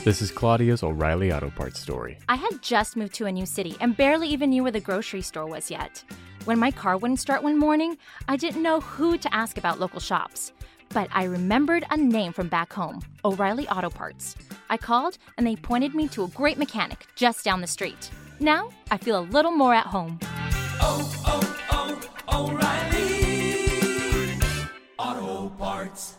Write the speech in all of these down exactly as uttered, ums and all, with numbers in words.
This is Claudia's O'Reilly Auto Parts story. I had just moved to a new city and barely even knew where the grocery store was yet. When my car wouldn't start one morning, I didn't know who to ask about local shops. But I remembered a name from back home, O'Reilly Auto Parts. I called and they pointed me to a great mechanic just down the street. Now I feel a little more at home. Oh, oh, oh, O'Reilly Auto Parts.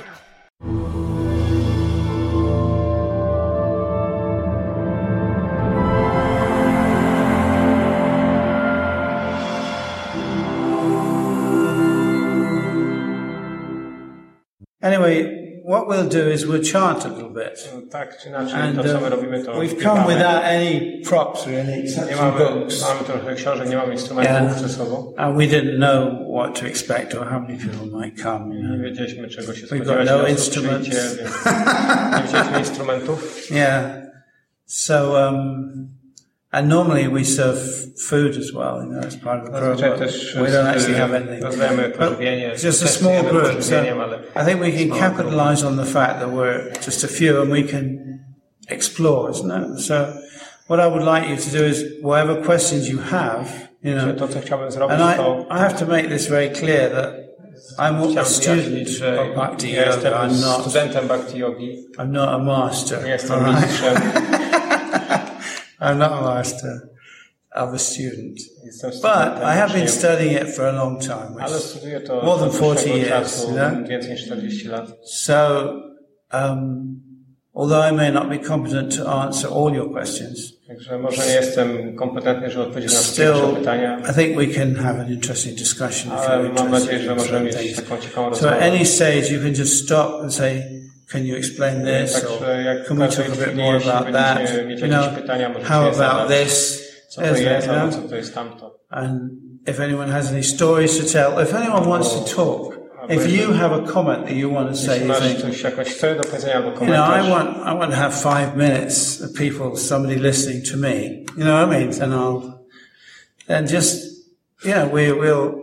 Anyway, what we'll do is we'll chant a little bit. Tak czy inaczej, And to co my uh, robimy, to we've śpiewamy. come without any props really, except Nie some mamy, books. mamy trochę książek, nie mamy instrumentów Yeah. ze sobą. And we didn't know what to expect or how many people might come. You Nie know. wiedzieliśmy, czego się We've got spodziewać, no ile osób instruments. przyjdzie, więc nie wzięliśmy instrumentów. Yeah. So, um, and normally we serve food as well, you know, as part of the Zazwyczaj program. też We don't actually have anything. rozdajemy But pożywienie. it's just a też small jemy group, so pożywieniem, ale I think we can capitalize on the fact that we're just a few and we can explore, isn't it? So what I would like you to do is whatever questions you have, you know, to, co chciałbym zrobić, and to I, I have to make this very clear that I'm a chciałbym student wyjaśnić, że of Bhakti ja Yoga. jestem I'm not, studentem Bhakti Yogi, I'm not a master. nie jestem all right? mistrzem, I'm not a master. I'm a student. jestem But studentem, I have been uczniem, studying it for a long time, ale which, studiuję to more than od forty dłuższego years, czasu, you know? więcej niż czterdzieści lat. so, um, although I may not be competent to answer all your questions, Także może nie jestem kompetentny, żeby odpowiedzieć na wszystkie still, wasze pytania, I think we can have an interesting discussion if ale you're mam nadzieję, interested że in możemy certain mieć things. taką ciekawą So at rozmowę. any stage you can just stop and say, can you explain this? Także Or jak can we każdej talk a bit chwili, more jeśli about that? będziecie mieć You jakieś know, pytania, możecie how je about zadać. this? Co to There's jest, that, you albo know? co to jest tamto. And if anyone has any stories to tell, if anyone wants to talk, if you have a comment that you want to say, Jeśli you masz think, coś, jakąś historię do powiedzenia albo you know, I komentarz, want, I want to have five minutes of people, somebody listening to me. You know what I mean? And I'll, and just, you know, we will,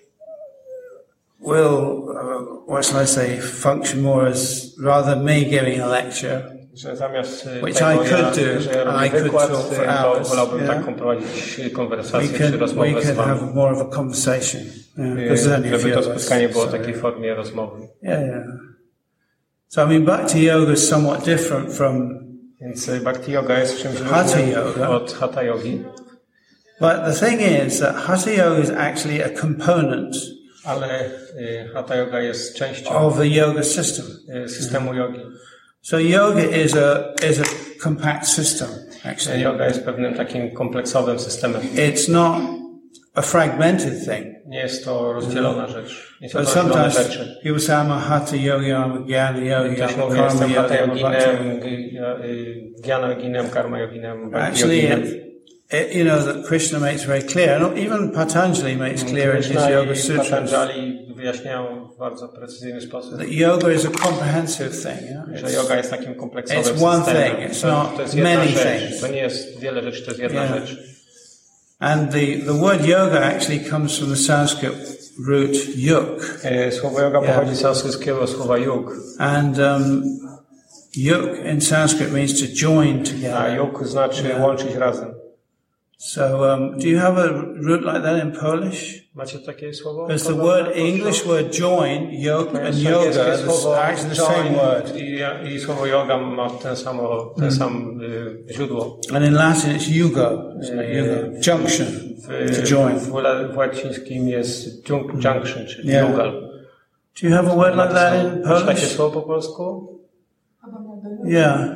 will, uh, what shall I say, function more as rather me giving a lecture. że zamiast y, Which tego, I could ja, do, że ja I robię could wykład, talk for y, to hours, wolałbym yeah. taką prowadzić We konwersację czy can, we rozmowę z can wami, have more of a conversation. Yeah, y, because there's only a żeby few to of us, spotkanie było w so, takiej formie rozmowy. yeah, yeah. So I mean, Bhakti Yoga is somewhat different from, Więc y, Bhakti Yoga jest czymś Hatha różnym yoga. od Hatha Yogi, but the thing is that Hatha Yoga is actually a component ale y, Hatha Yoga jest częścią of the yoga system. y, systemu jogi. So yoga is a is a compact system, actually. Yoga jest pewnym takim kompleksowym systemem. It's not a fragmented thing. Nie jest to rozdzielona rzecz. Nie są But to rozdzielone sometimes rzeczy. people say, I'm a hatha yogi, I'm a jnana yogi, Ktoś I'm a mówi, karma jestem yogi, Hatha I'm a bhakti yogi. Yoginem, Gyana Yoginem, Karma Yoginem, Bhakti Actually, Yoginem. it, it, you know, that Krishna makes very clear, and even Patanjali makes clear in his Krishna Yoga i Sutras, Patanjali wyjaśniają w bardzo precyzyjny sposób, that yoga is a comprehensive thing. You know? że It's- yoga jest takim kompleksowym It's one systemem. thing, it's To, not to jest jedna many rzecz. things. To nie jest wiele rzeczy, to jest jedna Yeah. rzecz. And the, the word yoga actually comes from the Sanskrit root yuk. E, Słowo yoga Yeah. pochodzi z sanskryckiego słowa yug, And um, yuk in Sanskrit means to join a together. yug znaczy Yeah. łączyć razem. So um, do you have a root like that in Polish? Macie takie słowo? Because the word English word join, yoke, and yoga, it's actually the same word. I, i słowo yoga ma ten samo, ten sam y, źródło. And in Latin it's yugo, isn't it? Yugo. Junction, W, to join. w, w łacińskim jest jun- junction, czyli Yeah. jugal. Do you have a word like that in Masz takie Polish? słowo po polsku? Yeah.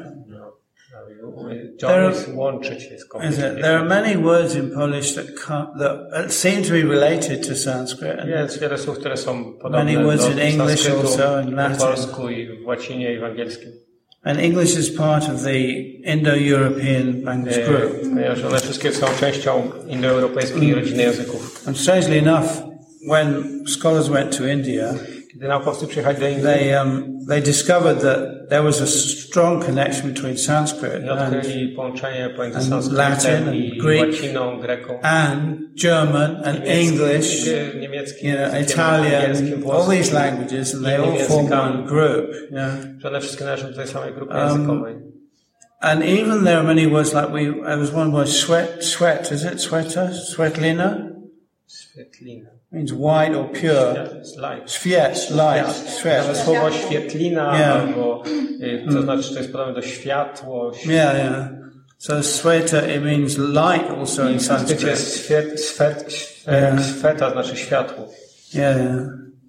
John jest łączyć, jest Is it? kompletnie. There are many words in Polish that come, that seem to be related to Sanskrit. And Jest wiele słów, które są podobne Many words do in English sanskrytu, also, in Latin. po polsku i w łacinie i w angielskim. And English is part of the Indo-European language group. E, Ponieważ one wszystkie są częścią indoeuropejskiej rodziny języków. And strangely enough, when scholars went to India, Kiedy naukowcy przyjechali do Indii, they um, they discovered that there was a strong connection between Sanskrit i and, odkryli połączenie pomiędzy and sanskrytem Latin i and Greek łaciną, greką, and German and English, niemieckim, niemieckim, you know, językiem, Italian, angielskim, all włoskim, these languages, and they innymi all form językami. one group. You know. że one wszystkie należą do tej samej grupy Um, językowej. And even there are many words like we, there was one word, sweat, sweat, is it? Sweater? Swetlina? Świetlina. Means white or pure. Light. Świet, light, świet. To słowo świetlina, Yeah. albo, y, to znaczy, to jest podobne do światło. Yeah, yeah. So sweta, it means light also in W sanskrycie Sanskrit. swet, swet, swet, Yeah. sweta znaczy światło. Yeah, yeah.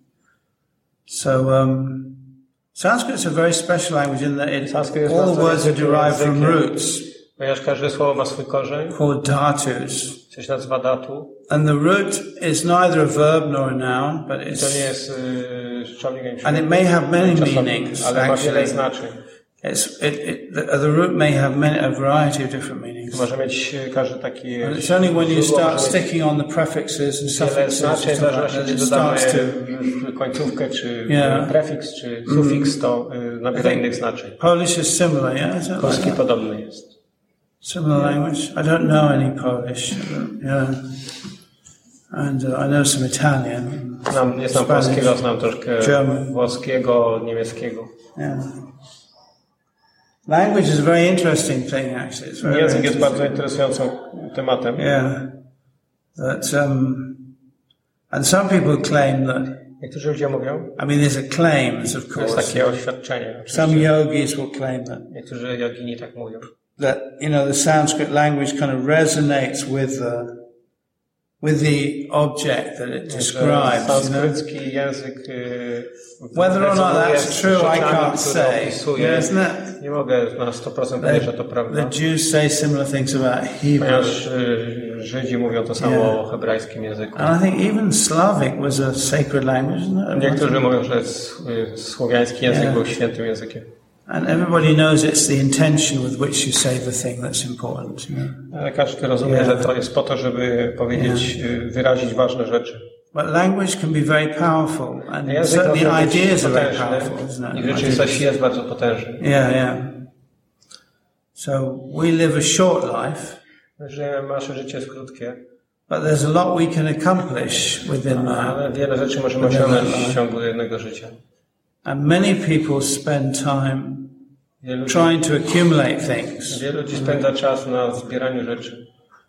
So, um, Sanskrit's a very special language in that it, Sanskrit jest all the bardzo words are niezwykłym derived from językiem. roots Ponieważ każde słowo ma swój korzeń, called dhatus. co się nazywa datu. And the root is neither a verb nor a noun, but To nie it's, jest y, czasownik, ani and it may have many czasownik, meanings, ale ma wiele actually. znaczeń. It's, it, it, the, the root may have many, a variety of different meanings. Może mieć y, każdy taki... But it's only when you źródło start może mieć sticking on the prefixes and wiele suffixes znaczeń, w and stuff like zależności that, czy it dodamy starts to. y, końcówkę, czy Yeah. prefiks, czy sufiks, to y, nabiera innych znaczeń. Polish is similar, yeah? Is that Polski like that? podobny jest. Similar language? I don't know any Polish. Yeah. And uh, I know some Italian. Znam, nie znam Spanish. polskiego, znam troszkę German. włoskiego, niemieckiego. Yeah. Language is a very interesting thing, actually. It's very, very Język jest bardzo interesting. interesującym tematem. Yeah. That, um, and some people claim that, Niektórzy ludzie mówią, I mean, there's a claims, of to jest course. takie oświadczenie. Some oczywiście. yogis will claim that, Niektórzy jogini tak mówią. that, you know, the Sanskrit language kind of resonates with the, with the object that it Że describes, you know. sanskrycki język y, Whether or not rezonuje that's z true, I rzeczami, can't które say. opisuje. Isn't it? Nie mogę na sto procent powiedzieć, że to The prawda. Jews say similar things about Hebrew. Ponieważ y, Żydzi mówią to samo Yeah. o hebrajskim języku. And I think even Slavic was a sacred language, isn't it? Niektórzy mówią, że s- y, słowiański język Yeah. był świętym językiem. And everybody knows it's the intention with which you say the thing that's important. You know? Ale każdy rozumie, Yeah. że to jest po to, żeby powiedzieć, y, wyrazić ważne rzeczy. But language can be very powerful, and Język może certainly być ideas are very potężny powerful, isn't i it? w rzeczywistości jest bardzo potężny. Yeah, yeah. So we live a short life, Że nasze życie jest krótkie, but there's a lot we can accomplish within that. ale wiele rzeczy możemy osiągnąć w ciągu jednego życia. And many people spend time Wielu ludzi, trying to accumulate things, wielu ludzi spędza czas na zbieraniu rzeczy,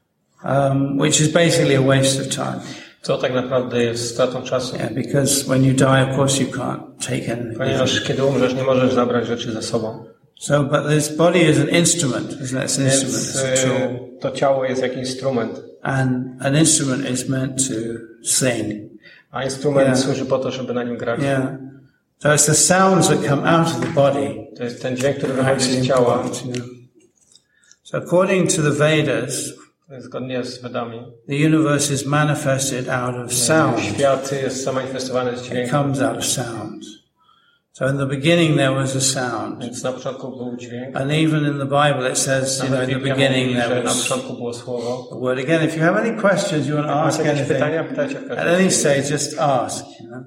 um, which is basically a waste of time. co tak naprawdę jest stratą czasu. Yeah, because when you die, of course, you can't take anything. Ponieważ kiedy umrzesz, nie możesz zabrać rzeczy ze sobą. So, but this body is an instrument, isn't it? It's an instrument, Więc it's a tool. e, to ciało jest jak instrument, And an instrument is meant to sing. a instrument Yeah. służy po to, żeby na nim grać. Yeah. So it's the sounds that come out of the body To jest ten dźwięk, który that are wychodzi actually z ciała. important, you know. So according to the Vedas, Zgodnie z Vedami, the universe is manifested out of sound. świat jest zamanifestowany z It dźwięku. comes out of sound. So in the beginning there was a sound. Więc na początku był dźwięk. And even in the Bible it says, you know, Nawet in the Biblia beginning mówi, there że na was początku było słowo. a word. Again, if you have any questions, you want to ask Macie jakieś anything, pytania? Pytajcie w at każdym any razie. stage, just ask, you know.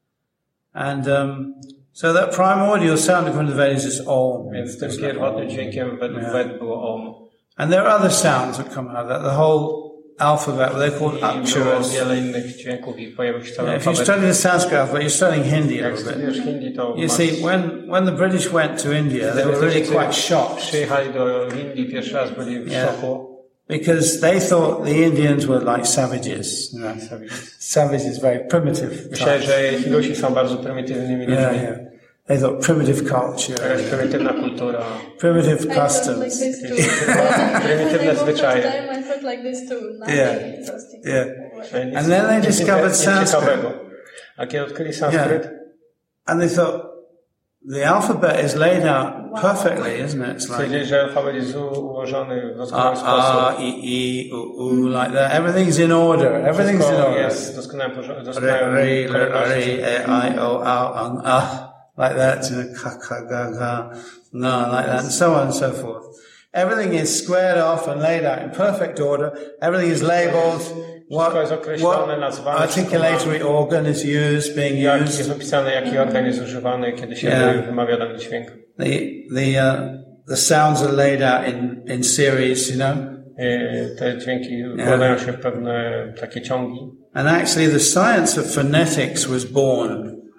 And um, so that primordial sound according to the Vedas is Om. Więc tym pierwotnym dźwiękiem według Yeah. Ved było Om. And there are other sounds that come out of that. The whole alphabet, they're called I było aksharas. wiele innych dźwięków i pojawił się cały Yeah, if you alfabet. study the Sanskrit alphabet, you're studying Hindi a Jak little bit. studiujesz hindi, to You masz... see, when, when the British went to India, they were really quite shocked Przyjechali do Indii pierwszy raz, byli w Yeah. szoku. because they thought the Indians were like savages. You know. Savages, very primitive. Myślałem, types. że Hindusi są bardzo prymitywnymi ludźmi. Yeah, yeah. They thought primitive culture, Jakaś prymitywna kultura. primitive I felt like customs. this too. When Prymitywne I moved zwyczaje. first time, I felt like this too. Nothing Yeah. interesting. Yeah. Nic- And then they nic discovered nic Sanskrit. ciekawego. A kiedy odkryli sanskryt, Yeah. And they thought the alphabet is laid out perfectly, isn't it? It's like stwierdzili, że alfabet jest u- ułożony w doskonały A, sposób. A, I, I, U, U, like that. Everything's in order. Everything's in Wszystko order. jest w doskonałym porządku. Re, doskonałym re, le, kolejności. re, e, I, O, A, on, A, like that. You know, ka, ka, ga, ga, no, like that, and so on and so forth. Everything is squared off and laid out in perfect order. Everything is labelled. What, jest określone, what nazwane, articulatory organ is used, being Jak used. jest opisane, jaki organ jest używany, kiedy się Yeah. wymawia dany dźwięk. The the uh, the sounds are laid out in in series, you know. Y, Te dźwięki układają się w pewne takie ciągi. And actually, the science of phonetics was born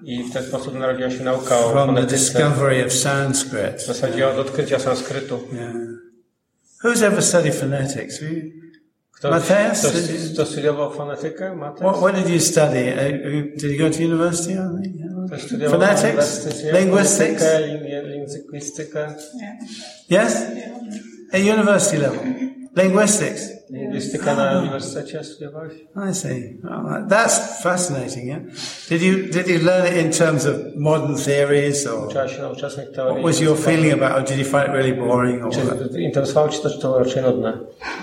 I w ten sposób narodziła się nauka o from the fonetyce. discovery of Sanskrit. W zasadzie od odkrycia sanskrytu. Yeah. Who's ever studied phonetics? Were you- Kto, Mateusz? kto, kto studiował fonetykę? Mateusz? What, what did you study? Uh, Did you go to university? I think? Ktoś studiował na Phonetics? uniwersytecie Linguistics? fonetykę, lin- lingwistykę. Yes? At university level? Linguistics? Lingwistykę na uniwersytecie studiowałeś? I see. Well, that's fascinating, yeah? Did you, did you learn it in terms of modern theories or Trzeba się nauczyć czasnych what teorii. was your feeling about it? Or did you find it really boring or what? Czy interesowało Cię to, czy to było raczej nudne?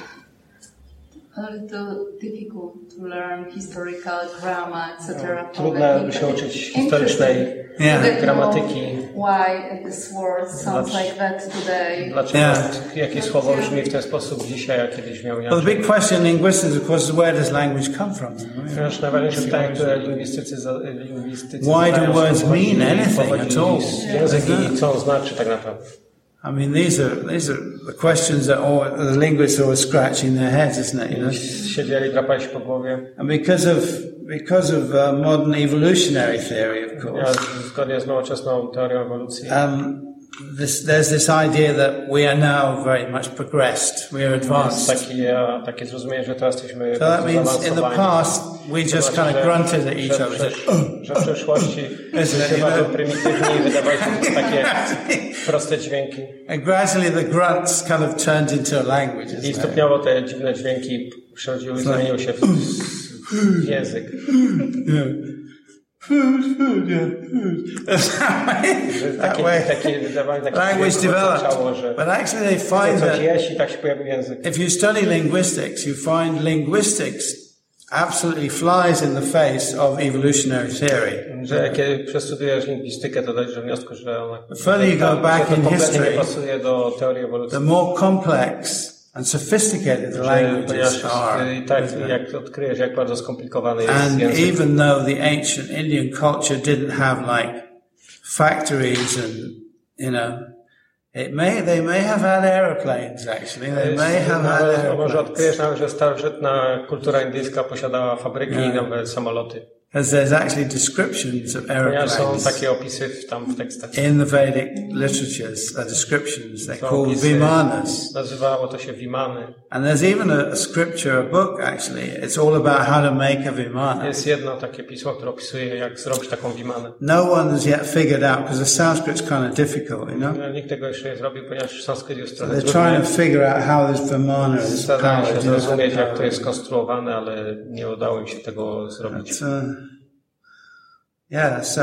A little difficult to learn historical grammar, et cetera. Trudno się uczyć historycznej Yeah. gramatyki. Why this word sounds like that today? Dlaczego Yeah. jakie słowo brzmi w ten sposób dzisiaj, a kiedyś miał Well, the inaczej? big question in linguistics, of course, is where does language come from? Ponieważ najważniejsze pytanie, które lingwistycy, za- lingwistycy Why do zadają, words skąd pochodzi- mean anything pochodzi at all? język i co on znaczy tak naprawdę. I mean, these are these are the questions that all the linguists are always scratching their heads, isn't it? You know, Siedzieli, drapali się po głowie. and because of because of uh, modern evolutionary theory, of Ja, course, zgodnie z nowoczesną teorią ewolucji, um, this, there's this idea that we are now very much progressed, we are jest advanced. takie, takie zrozumienie, że teraz jesteśmy So that bardzo means in the zaawansowani. past we just To kind znaczy, of że- grunted at each że, other. że, że w przeszłości Isn't it, byliśmy you bardzo know? prymitywni i wydawaliśmy takie proste dźwięki. And gradually the grunts kind of turned into a language. I Isn't it? stopniowo te dziwne dźwięki przechodziły, zamieniły się w, w język. Food, food, yeah, food. That Takie, way, takie wydawanie takich language dźwięków oznaczało, developed. że But actually they chce find coś that jeść i tak się pojawił język. if you study linguistics, you find linguistics absolutely flies in the face of evolutionary theory. Że jak przestudiujesz lingwistykę, to dojdziesz do wniosku, że ona The further you go że back to in kompletnie history, nie pasuje do teorii The ewolucji. more complex and sophisticated the Że, languages ponieważ are. i tak jak odkryjesz, jak bardzo skomplikowany jest And język. even though the ancient Indian culture didn't have like factories and, you know, it may, they may have had aeroplanes actually. They may have had Nawet, może aeroplanes. odkryjesz nawet, że starożytna kultura indyjska posiadała fabryki i nawet samoloty. Because there's actually descriptions of Ponieważ są aeroplanes. takie opisy w, tam w tekstach. In the Vedic literatures, are descriptions. They're Są called opisy, Vimanas. nazywało to się Vimany. And there's even a, a scripture, a book actually. It's all about how to make a Vimana. Jest jedno takie pismo, które opisuje, jak zrobić taką Vimanę. No one has yet figured out, because the Sanskrit's kind of difficult, you know? No, nikt tego jeszcze nie zrobił, ponieważ sanskryt jest trochę They're trudny. trying to figure out how this Vimana is Starają się powered. you know? zrozumieć, jak to jest skonstruowane, ale nie udało im się tego zrobić. But, uh, yeah, so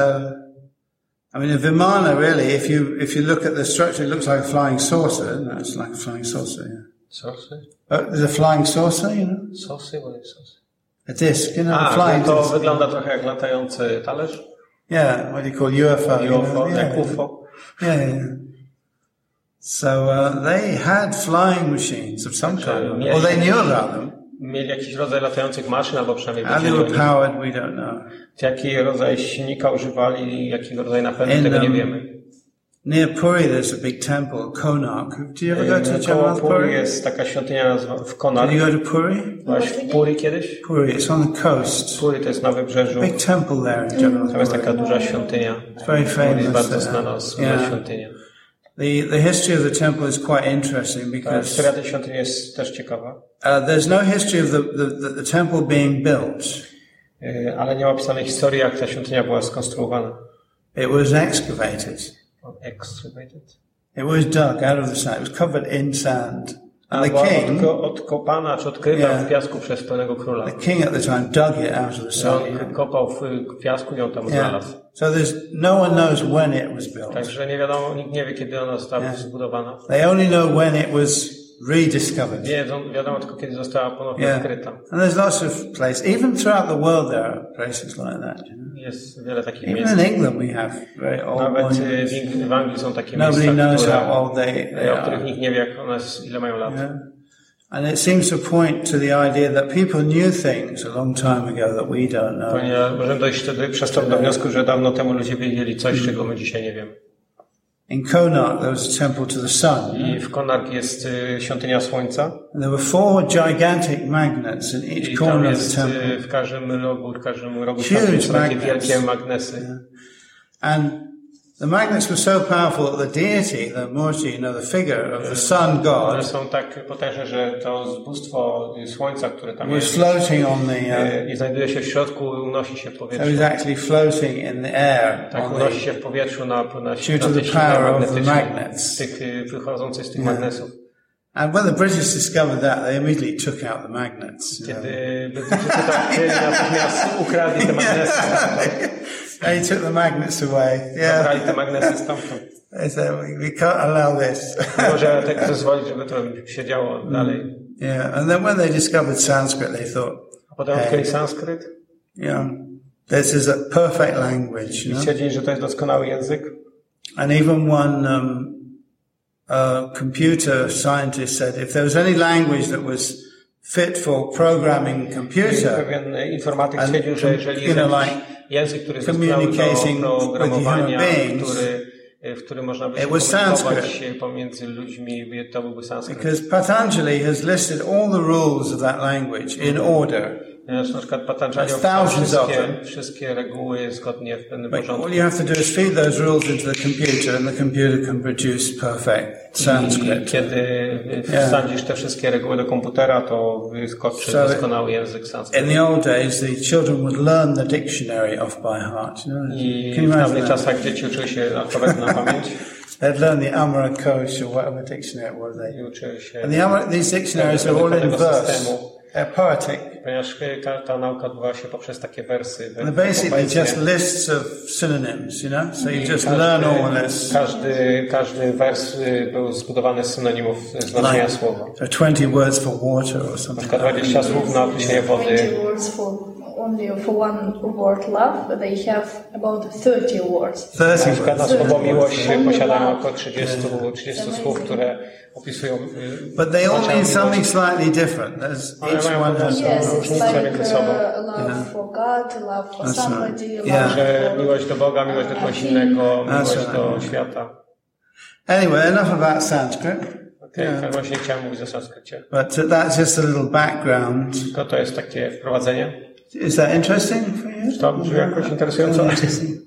I mean, a Vimana really, if you if you look at the structure, it looks like a flying saucer. No, it's like a flying saucer. Yeah. Sosy? Uh, there's a flying saucer, you know, Sosy? Bo jest sosy. a disc, you know, a A, flying to disc. wygląda trochę jak latający talerz. Yeah, what do you call U F O? you U F O, know? jak Yeah. U F O. Yeah, yeah. So uh, they had flying machines of some kind, or they knew about them. Mieli jakiś rodzaj latających maszyn, albo przynajmniej How they wiedzieli o were nich. powered, we don't know. Jaki rodzaj silnika używali, jakiego rodzaju napędu, In, tego nie um, wiemy. Near Puri, there's a big temple, Konark. Do you ever go to Koło Jagannath Puri Puri? jest taka świątynia nazwa- w Konar. Did you go to Puri? Byłaś w Puri kiedyś? Puri, it's on the coast. Puri to jest na wybrzeżu. Big temple there in Jagannath Tam jest Puri. taka duża świątynia. It's very Puri jest famous. bardzo there. znana, słynna Yeah. świątynia. The, the history of the temple is quite interesting Ta because historia tej świątyni jest też ciekawa. uh, there's no history of the, the, the, the temple being built. Yy, Ale nie ma opisanej historii, jak ta świątynia była skonstruowana. It was excavated. Excavated? It was dug out of the sand. It was covered in sand. A And the była king, odko- odkopana czy odkryta Yeah. w piasku przez pełnego króla. the king at the time dug it out of the Że sand. on kopał w piasku i ją tam Yeah. znalazł. So there's no one knows when it was built. Także nie wiadomo, nikt nie wie, kiedy ona została Yeah. zbudowana. They only know when it was rediscovered. Wiedzą, wiadomo tylko, kiedy została ponownie Yeah. odkryta. And there's lots of places, even throughout the world there are places like that. You know? Jest wiele takich Even miejsc. in England we have very old Nawet y, monuments. w, Ing- w Anglii są takie Nobody miejsca, knows które, how old they, they o których are. nikt nie wie, jak one, s- ile mają lat. Yeah. And it seems to point to the idea that people knew things a long time ago that we don't know. Ponieważ możemy dojść wtedy przez to do wniosku, że dawno temu ludzie wiedzieli coś, czego my dzisiaj nie wiemy. In Konark there was a temple to the sun. I w Konark jest y, świątynia Słońca. And there were four gigantic magnets in each I corner tam of jest the y, temple. w każdym rogu, w każdym rogu Huge świata są takie magnets. wielkie magnesy. Yeah. And the magnets were so powerful that the deity, the Murti, you know, the figure of the sun One god, są tak potężne, że to bóstwo Słońca, które tam was jest floating on the. Uh, y, i znajduje się w środku, unosi się w it powietrzu. was actually floating in the air Tak, on unosi the, się w powietrzu na, na, na due tej to the sile power of the magnetycznej, magnets. tych y, wychodzących z tych Yeah. magnesów. And when the British discovered that, they immediately took out the magnets. You know. Kiedy Brytyjczycy to chcieli, natychmiast ukradli te magnesy. They took the magnets away. Yeah. Zabrali te magnesy stamtąd. They said, we, we can't allow this. Nie możemy tak zezwolić, żeby to się działo dalej. Yeah. And then when they discovered Sanskrit, they thought, A potem odkryli sanskryt you know, this is a perfect language, you i know. stwierdzili, że to jest doskonały język. And even one um, uh, computer scientist said, if there was any language that was fit for programming I computer, pewien informatyk And, stwierdził, że jeżeli you jest know, jakiś like język, który jest doskonały communicating do with programowania, human beings, który, w którym można by się it was komunikować Sanskrit. pomiędzy ludźmi, to byłby sanskryt. because Patanjali has listed all the rules of that language in order. Ponieważ na przykład Patanjali There's opisał thousands of wszystkie, them. wszystkie reguły zgodnie w pewnym But porządku. all you have to do is feed those rules into the computer and the computer can produce perfect I Sanskrit. kiedy Yeah. wsadzisz te wszystkie reguły do komputera, to wyskoczy So doskonały język sanskryt. In the old days, the children would learn the dictionary off by heart. You know? I Can you w imagine dawnych that? czasach dzieci uczyły się alfabetu na pamięć They'd learn the Amara Kosh or whatever dictionary it was. They. i uczyły się, And the Amara, these dictionaries are all in verse. They're poetic. ponieważ ta, ta nauka odbywa się poprzez takie wersy. And they're basically poezję. just lists of synonyms, you know? So you just learn all this. Każdy, każdy wers y, był zbudowany z synonimów znaczenia Like, słowa. so twenty words for water or Na something. przykład dwadzieścia słów na określenie wody. twenty words for only for one word love, but they have about thirty words. thirty Na przykład na words. słowo miłość posiadają około trzydzieści, trzydzieści słów, które opisują. y, But they all znaczenie mean something miłości. slightly different. There's, Ale each mają one po has prostu Yes, it's różnice like między sobą. uh, love for God, love for That's right. somebody, Yeah. love Że for miłość do Boga, miłość do kogoś innego, That's miłość right. do świata. Anyway, enough about Sanskrit. Okej, okay, właśnie chciałem mówić o sanskrycie. But uh, that's just a little background. Tylko to jest takie wprowadzenie. Is that interesting for you? To brzmi jakoś interesująco. Interesting.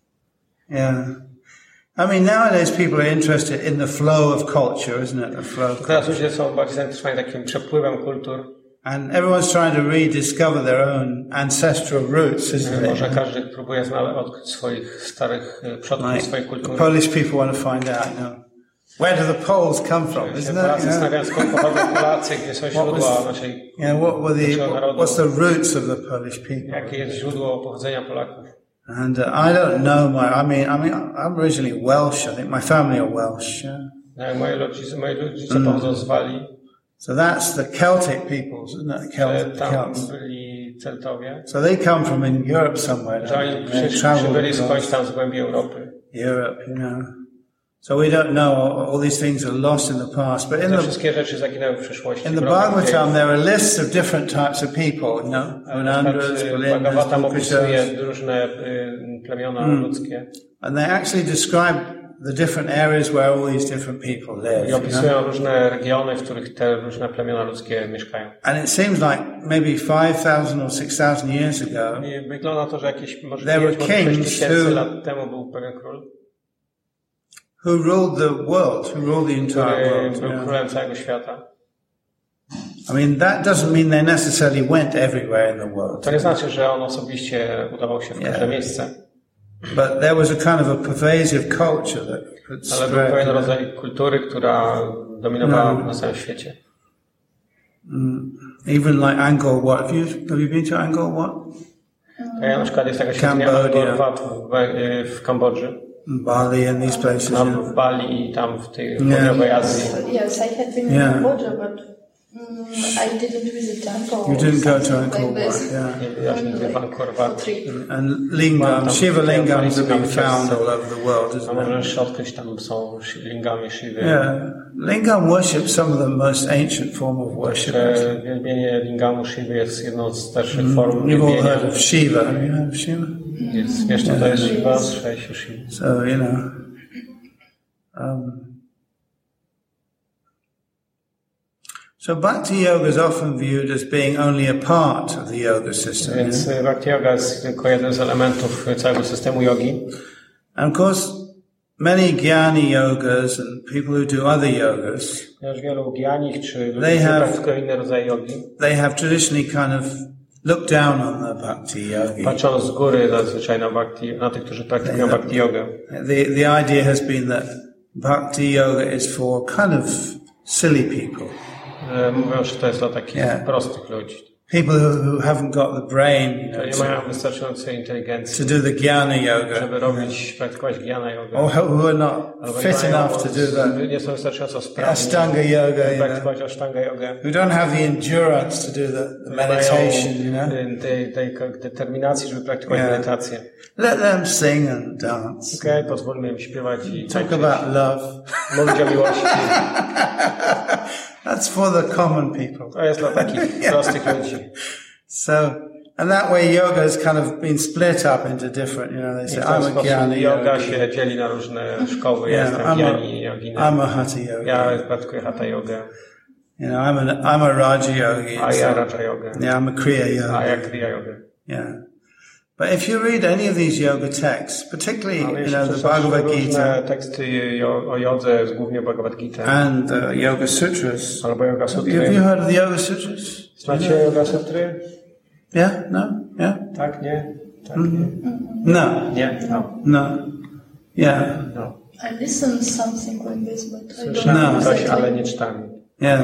Yeah. I mean, nowadays people are interested in the flow of culture, isn't it? The flow of Teraz culture. ludzie są bardziej zainteresowani takim przepływem kultur. And everyone's trying to rediscover their own ancestral roots, isn't Może it? każdy próbuje znaleźć, odkryć swoich starych y, przodków, Like, swojej the kultury. Polish people want to find out, you know, where do the Poles come from, Się isn't it? Polacy You know? zastanawiają, skąd pochodzą Polacy, gdzie są źródła was- naszej, Yeah, what were the, naszego narodu, what's the roots of the Polish people? jakie jest źródło pochodzenia Polaków. And uh, I don't know my, I mean, I mean, I'm originally Welsh. I think my family are Welsh. Yeah? No, Moi rodzice, moi rodzice Mm. pochodzą z Walii, So that's the Celtic peoples, isn't it? The e, Celtic, the tam Celts. byli Celtowie, So they come from in Europe somewhere. że don't oni they? They przyszli, travel przybyli skądś across tam z głębi Europy. Europe, you know. So we don't know. All, all these things are lost in the past. But in Te the wszystkie rzeczy zaginęły w przeszłości. in the Wrogach Bhagavatam, dziejów. there are lists of different types of people. You know, Na Unandras, przykład, y, Bulindas, Bhagavatam Bukashas, opisuje różne y, plemiona Mm. ludzkie and they actually describe the different areas where all these different people live. i You know? opisują różne regiony, w których te różne plemiona ludzkie mieszkają. And it seems like maybe five thousand or six thousand years ago, I wygląda na to, że jakieś może There were pięć, może sześć kings tysięcy who- lat temu był pewien król, who ruled the world, who ruled the entire który world. był yeah. królem całego świata. I mean, that doesn't mean they necessarily went everywhere in the world. To nie znaczy, że on osobiście udawał się w każde Yeah. miejsce, But there was a kind of a pervasive culture that could ale był pewien spread. rodzaj kultury, która dominowała No. na całym świecie. Even like Angkor Wat. Have you, have you been to Angkor Wat? To ja na przykład jest taka świątynia Cambodia. Angkor Wat w, w Kambodży, Bali and these places. tam Yeah. w Bali i tam w tej Yeah. południowej Azji. Yes, I had been Yeah. in Cambodia, but mm, I didn't visit temple. You or didn't go to something Angkor like Wat, this. yeah. Nie byłaś nigdy w Angkor For Wat. trip. And lingam, Shiva lingams have been found all over the world, A isn't możesz odkryć, tam są shi- lingami Shiwy. Yeah. Lingam worship some of the most ancient form of worship. Że Wielbienie lingamu Shiwy jest jedną z starszych form You've all wielbienia. heard of Shiva. You know of Shiva? Jest, wiesz, co to jest Shiva? Słyszałeś o Shiwie. So, you know. Um, so Bhakti Yoga is often viewed as being only a part of the yoga system. Więc Bhakti Yoga jest tylko jeden z elementów całego systemu jogi. And of course, many Jnani yogas and people who do other yogas, Ponieważ wielu gjanich czy ludzi, They którzy have- praktykują inne rodzaje jogi, they have traditionally kind of looked down on the Bhakti yogi. patrzą z góry zazwyczaj na, bhakti, na tych, którzy praktykują Yeah. Bhakti Jogę. The, the idea has been that Bhakti yoga is for kind of silly people. E, Mówią, że to jest dla takich Yeah. prostych ludzi, People who, who haven't got the brain, you którzy nie know, mają to, wystarczającej to inteligencji, do the Jnana yoga. żeby robić, praktykować Jnana Jogę. Or who who are not Albo nie fit mają- enough to do the nie są wystarczająco sprawni, Ashtanga yoga, żeby you know, praktykować Ashtanga Jogę. who don't have the endurance to do the, the Nie mają meditation, you know. y, tej, tej determinacji, żeby praktykować Yeah. medytację. Let them sing and dance. Okej, okay, pozwólmy im śpiewać i Talk tańczyć, about love. mówić o miłości. That's for the common people. To jest dla takich prostych ludzi. So, and that way yoga has kind of been split up into different, you know, they I say, w ten I'm a sposób Jnana yoga yogi. się dzieli na różne szkoły. Ja Yeah, jestem I'm Jnani, a, joginem. I'm a Hatha yogi. Ja praktykuję Hatha Jogę, You know, I'm, an, I'm a Raja yogi. a ja So, Raja Jogę, yeah, I'm a Kriya a ja yogi. Kriya Jogę. Yeah. But if you read any of these yoga texts, particularly, Ale you jeśli know, the przeczytasz Bhagavad różne Gita teksty jo- o jodze, z głównie Bhagavad Gita, and uh, Yoga Sutras, albo Yoga have you Sutry. heard of the Yoga Sutras? Znacie Yoga Sutry? Yeah? No? Yeah? Tak, nie? Tak, nie? No. Nie? No. No. Yeah. no. I listened something like this, but I don't Słyszałem know No. coś, exactly. ale nie czytałem. Yeah.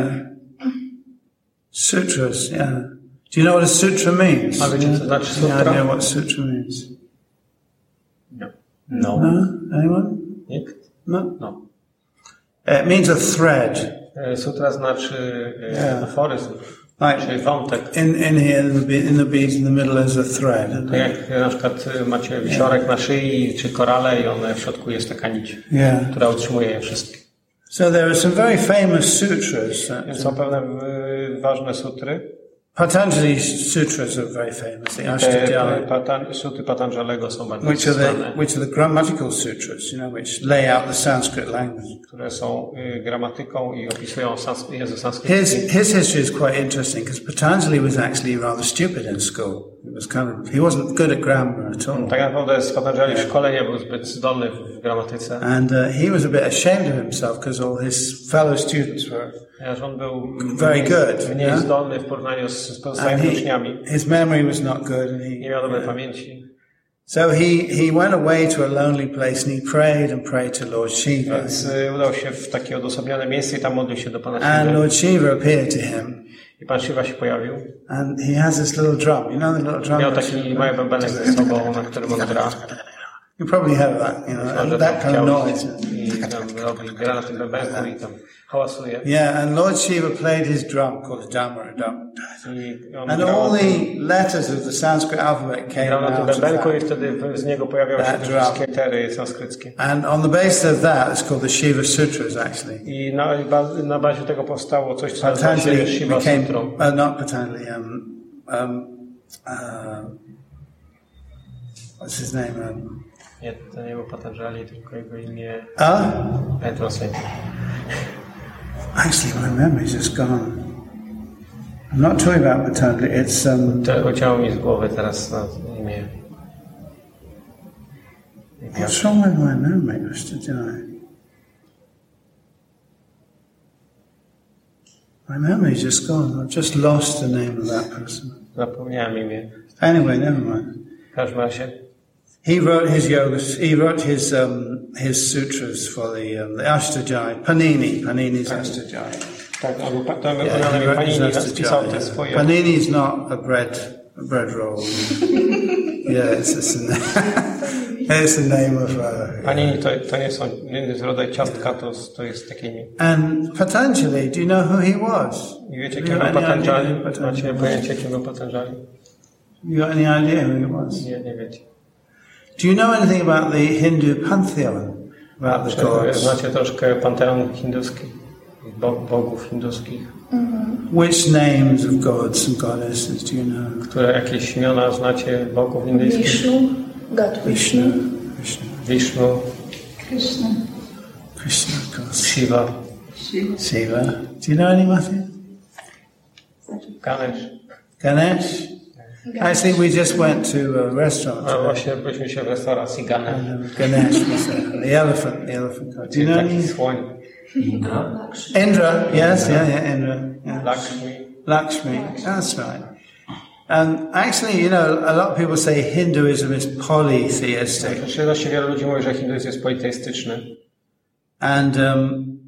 Sutras, yeah. Do you know what a sutra means? A wiecie, co znaczy Any sutra? idea what sutra means? No. No? Anyone? Nikt? No? No. It means a thread. E, Sutra znaczy e, Yeah. aforyzm, Like czyli wątek. in, in here, in the, be- in the beads in the middle is a thread. isn't To it? jak na przykład e, macie wisiorek na szyi czy korale i one w środku jest taka nić, Yeah. która utrzymuje je wszystkie. So there are some very famous sutras. That, Są pewne e, ważne sutry. Patanjali's sutras are very famous. The Te Ashtadhyayi, patan, suty Patanjalego są bardzo which are the znane, which are the grammatical sutras, you know, which lay out the Sanskrit language. które są e, gramatyką i opisują sans- język sanskrycki. His his history is quite interesting because Patanjali was actually rather stupid in school. He was kind of he wasn't good at grammar at all, Tak naprawdę z Patanjali w szkole nie był zbyt zdolny w gramatyce. and uh, he was a bit ashamed of himself because all his fellow students were, Ponieważ on był Very mniej, good, mniej yeah? zdolny w porównaniu z, z and pozostałymi he, uczniami. his memory was not good, and Nie he. miał dobrej pamięci. So he he went away to a lonely place and he prayed and prayed to Lord Shiva, Więc y, udał się w takie odosobnione miejsce i tam modlił się do Pana and Shiva. Lord Shiva appeared to him. I Pan Shiva się pojawił. And he has this little drum. You know the little drum? Miał that taki you- mały bębenek ze sobą, na którym on gra. You probably have that, you know, Może and tam that kind of chciał noise. i tam robi, gra na tym bębenku i tam hałasuje. Yeah, and Lord Shiva played his drum called Dhamma Dum. I on And grał, all the letters of the Sanskrit alphabet came grał na tym out of bębenku i that. wtedy w- z niego pojawiały się That te drum. wszystkie litery sanskryckie. And on the basis of that, it's called the Shiva Sutras, actually. I na, ba- na bazie tego powstało coś, co nazywa się Patanjali Shiva became, Sutrą. uh, not Patanjali, um, um, uh, what's his name? Um, Nie, to nie był Patanjali, tylko jego imię uh, Petrosy. actually, my memory's just gone. I'm not talking about Patanjali, it's, um, To ucięło mi z głowy teraz na imię. what's wrong with my memory, Mister Jai? My memory's just gone. I've just lost the name of that person. Zapomniałem imię. Anyway, never mind. W każdym razie He wrote his yogas. He wrote his um, his sutras for the um, the Ashtadhyayi. Panini, Panini's Ashtadhyayi. tak, albo pa- to Yeah, wykonane he mi wrote his Panini spisał te Ashtadhyayi. swoje. Panini's not a bread a bread roll. Yeah, it's it's the, it's the name of. Uh, Panini to, to nie są nie jest rodzaj ciastka, to, to jest takie imię. and Patanjali. Do you know who he was? I wiecie, Do kim you był have any idea Patanjali? who Patanjali Macie was? pojęcie, kim był Patanjali? You got any idea who he was? Nie, nie wiecie. Do you know anything about the Hindu pantheon? About the Czy gods? znacie troszkę panteon hinduski? Bo, bogów hinduskich? Which names of gods and goddesses do you know? Które jakieś imiona znacie bogów indyjskich? Vishnu, God Vishnu, Vishnu. Vishnu, Krishna. Krishna, of course. Shiva, Shiva. Shiva. Do you know any Matthew? Ganesh. Ganesh? Actually, we just went to a restaurant A today. właśnie byliśmy się w restauracji Ganesh. And Ganesh was uh, the elephant, the elephant god. Do you know Taki any? słoń. Indra, yes, yeah, yeah, Indra. Yeah. Lakshmi. Lakshmi, that's right. And actually, you know, a lot of people say Hinduism is polytheistic. Znaczy, właściwie wielu ludzi mówi, że hinduizm jest politeistyczny. And um,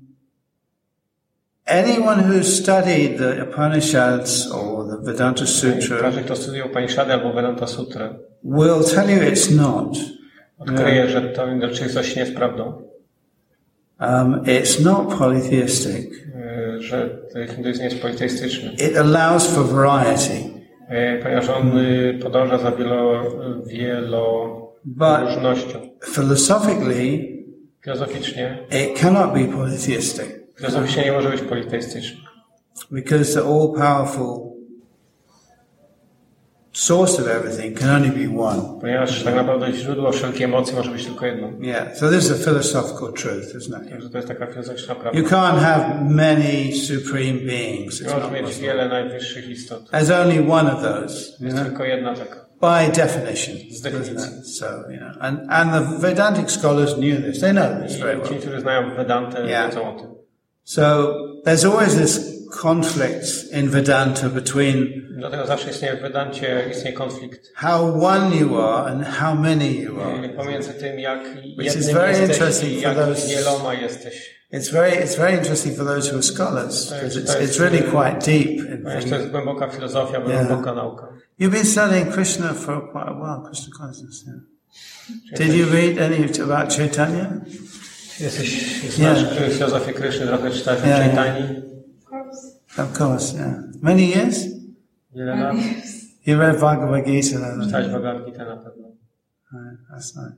anyone who studied the Upanishads or the Vedanta Sutra Każdy, kto studiuje Upanishady albo Vedanta Sutrę, will tell you it's not. odkryje, że to raczej coś nie jest prawdą. Um, it's not polytheistic. Yy, że hinduizm nie jest politeistyczny. It allows for variety. Yy, ponieważ on yy, podąża za wielo, wieloróżnością. Philosophically, Filozoficznie, it cannot be polytheistic filozoficznie nie może być politeistyczny. because the all-powerful source of everything can only be one. Ponieważ tak naprawdę źródło wszelkiej emocji może być tylko jedno. Yeah, so this is a philosophical truth, isn't it? Także to jest taka filozoficzna prawda. You can't have many supreme beings. Nie It's może not mieć possible. wiele najwyższych istot. There's only one of those, you Jest know, tylko jedna taka. by definition. Z definicji. isn't it? So, you know, and, and the Vedantic scholars knew this. They know this very I ci, well. którzy znają Vedantę, Yeah. wiedzą o tym. So there's always this conflict in Vedanta between Dlatego zawsze istnieje w Vedancie istnieje konflikt how one you are and how many you are. pomiędzy tym, jak Which is jednym very jesteś interesting i for jak those- wieloma jesteś. It's very, it's very interesting for those who are scholars because it's, it's really quite deep. In Ponieważ to thinking. jest głęboka filozofia, Yeah. głęboka nauka. You've been studying Krishna for quite a while, Krishna consciousness. Yeah. Did you read any about Chaitanya? Jesteś, znasz Yeah. filozofię Kryszny, trochę czytałeś o Yeah, yeah. Chaitani. Of course, yeah. Many years? Wiele lat. You read Bhagavad Gita, then? Czytałeś Bhagavad Gita na pewno. Right, that's nice.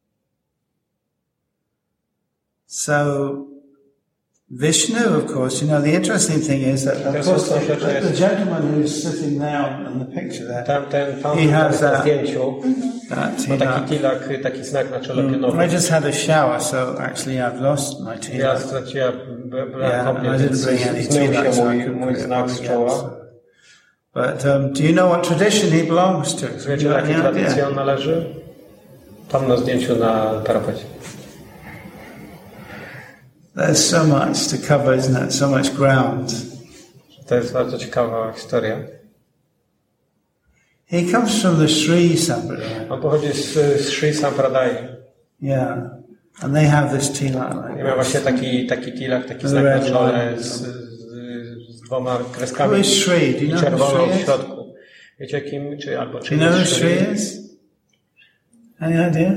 So, Vishnu, of course, you know, the interesting thing is that, of Yes, course, of course, the, yes. the gentleman who's sitting now in the picture there, Tam ten pan He has na that- zdjęciu that, ma you taki know, tilak, taki znak na czole pionowy. I just had a shower, so actually I've lost my Ja tilak. straciłem Yeah, and I kąpiel, didn't bring any więc zmył tilak, się so I mój, couldn't mój put it znak on z again, czoła. so. But um, do you know what tradition he belongs to? Wiecie, Do you do have jakiej any tradycji idea? on należy? Tam na zdjęciu na parapecie. There's so much to cover, isn't it? So much ground. To jest bardzo ciekawa historia. He comes from the Sri Sampradaya. On pochodzi z, z Sri Sampradai. Yeah. And they have this tilak I like miał this. właśnie taki, taki tilak, taki The znak red na czole line. z, z, z dwoma Who kreskami is Sri? Do you i know who czerwoną w Sri is? środku. Wiecie kim, czy albo Do czy you know who jest Sri is? Any idea?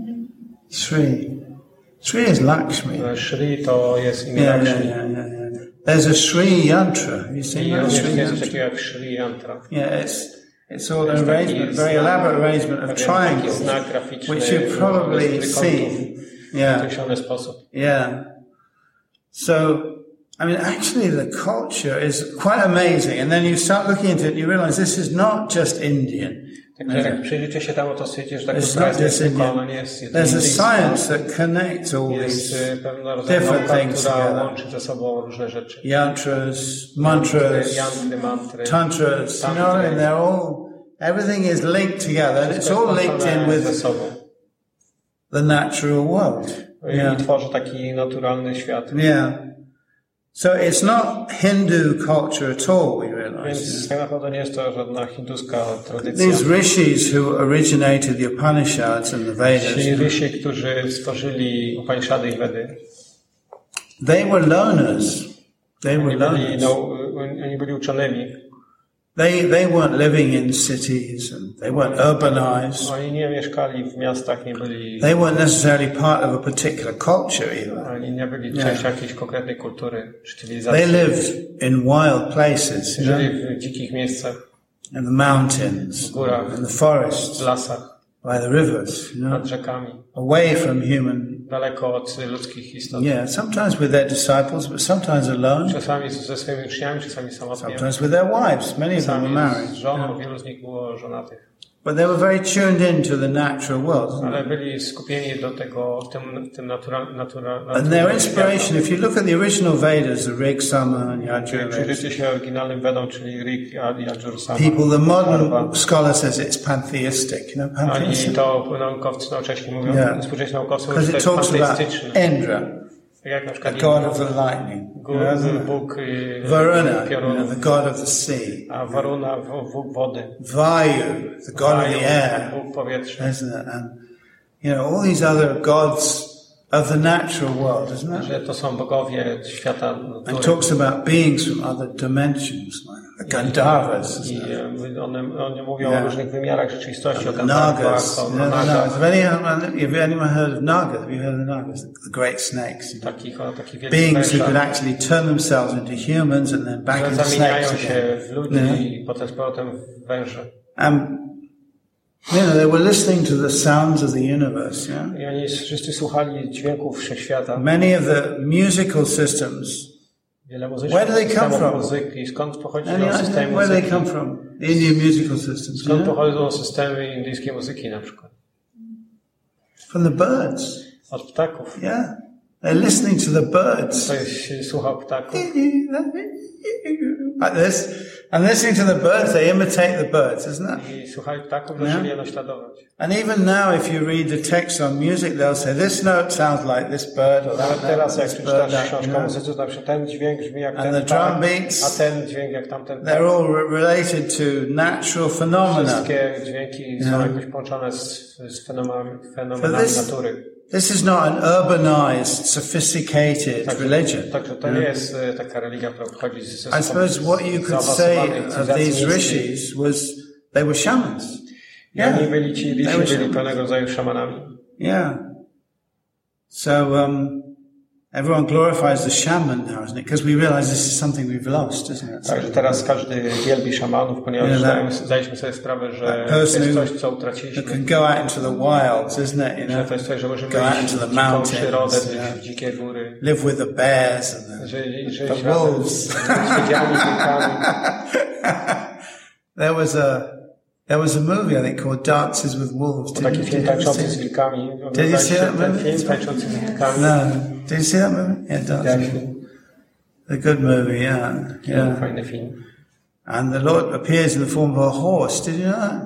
Sri. Sri is Lakshmi. Shri to jest imię Yeah, yeah, Lakshmi. yeah, yeah, yeah. There's a Sri yantra. Have you seen I that? również Sri jest coś yantra? takiego jak Shri Yantra. Yeah, it's it's all Jest an taki arrangement, very znak- elaborate arrangement of pewien taki triangles, znak graficzny, which you've probably z trójkątów seen. w Yeah, określony sposób. yeah. So, I mean, actually, the culture is quite amazing. And then you start looking into it, and you realize this is not just Indian. Także jak przyjrzycie się temu, to stwierdzicie, że ta It's kultura not jest just tylko, Indian. ona nie jest There's a indyjska. science that connects all Jest these y, pewna rodzaju different nauka, things która together. łączy ze sobą różne rzeczy. yantras, mantras, Jantry, mantry. tantras. You know, and they're all everything is linked together. And it's all linked in ze with sobą. the natural world. I Yeah. tworzy taki naturalny świat. Yeah. So it's not Hindu culture at all, we realize. Więc tak naprawdę nie jest to żadna hinduska tradycja. These rishis who originated the Upanishads and the Ci Vedas, rysi, którzy stworzyli Upanishady i Vedy, they were learners. They were oni byli, learners. no, oni byli uczonymi. They, they weren't living in cities and they weren't urbanized. Oni nie mieszkali w miastach, nie byli, They weren't necessarily part of a particular culture either. oni nie byli Nie. częścią jakiejś konkretnej kultury czy cywilizacji. They lived in wild places, you know, Żyli w dzikich miejscach, in the mountains, w górach, in the forests, w lasach, by the rivers, you know, nad rzekami, away from human. daleko od ludzkich istot. Yeah, sometimes with their disciples, but sometimes alone, Czasami ze swoimi uczniami, czasami samotnie, sometimes with their wives. Many of them were czasami z married. żoną, wielu z nich było żonatych. But they were very tuned into the natural world. Ale byli skupieni do tego, w tym, w tym natura, natura, And their inspiration, if you look at the original Vedas, the Rig, Sama and Yajur, przyjrzyjcie się oryginalnym Vedom, czyli Rig, Yajur, Sama. people, the modern scholar says it's pantheistic. You know, Oni pantheistic? to naukowcy nowocześni mówią, Yeah. współcześni naukowcy mówią, Because że to it jest talks about panteistyczne. Indra, Jak na the przykład god of the lightning. Bóg, You know, Bóg y, Varuna, you know, piorunów, the god of the sea. a Varuna, Bóg wody. Vayu, the god of Vayu, the air. Bóg powietrza. Isn't it? And, you know, all these other gods of the natural world, isn't it? Że to są bogowie świata And natury. talks about beings from other dimensions, like the Gandharvas, I isn't it? e, one, one mówią Yeah. o różnych wymiarach rzeczywistości, o The Gandharwach, Nagas. o You know, the Nagach, Nagas. Have anyone, have anyone heard of Nagas? Have you heard of the Nagas? The great snakes. takich, o takich wielkich Beings who could wężach, actually turn themselves into humans and then back że into zamieniają snakes się again. w ludzi Yeah. i potem z powrotem w węże. Um, you know, they were listening to the sounds of the universe, yeah? I oni wszyscy słuchali dźwięków wszechświata. Many of the musical systems. Wiele muzycznych Where do they come systemów from? muzyki. Skąd pochodzi Any idea system where they muzyki? come from? Indian musical systems. Skąd Yeah? pochodzą systemy indyjskiej muzyki na przykład? From the birds. Od ptaków. Yeah. They're listening to the birds. Ktoś słuchał ptaków. Like this. And listening to the birds, they imitate the birds, isn't it? I słuchali ptaków, zaczęli je naśladować. And even now, if you read the text on music, they'll say, this note sounds like this bird or that Nawet teraz, jak this bird, przeczytasz that, you książkę o know. muzyce, to na przykład ten dźwięk brzmi jak And ten the ptak, drum beats, a ten dźwięk jak tamten ptak. They're all re- related to natural phenomena. Wszystkie dźwięki są Yeah. jakoś połączone z, z fenomenami, But fenomenami this, natury. this is not an urbanized, sophisticated Także, religion. także to nie jest e, taka religia, która pochodzi z z- I suppose what you could say of these rishis was they were shamans. Yeah. Oni byli ci They rishi, were byli shamans. pewnego rodzaju szamanami. Yeah. So um, everyone glorifies the shaman now, isn't it? Because we realize this is something we've lost, isn't it? Także teraz każdy wielbi szamanów, ponieważ Yeah, zdajemy, that- zdaliśmy sobie sprawę, że that to jest person coś, who- co Who utraciliśmy. can go out into the wilds, isn't it? You Że know, to jest coś, że możemy go out iść into w the dziką przyrodę, mountains, gdzieś yeah. w dzikie góry, live with the bears and the, żyć, żyć the razem wolves. z niedźwiedziami, wilkami. There was a there was a movie I think called Dances with Wolves. Did Taki you, film did you ever tańczący see z it? wilkami. Did you Oglądaliście see that ten movie? film tańczący z wilkami? No. Did you see that movie? Yeah, Dances. Jak A good movie, yeah, yeah. fajny film. And the Lord appears in the form of a horse. Did you know that?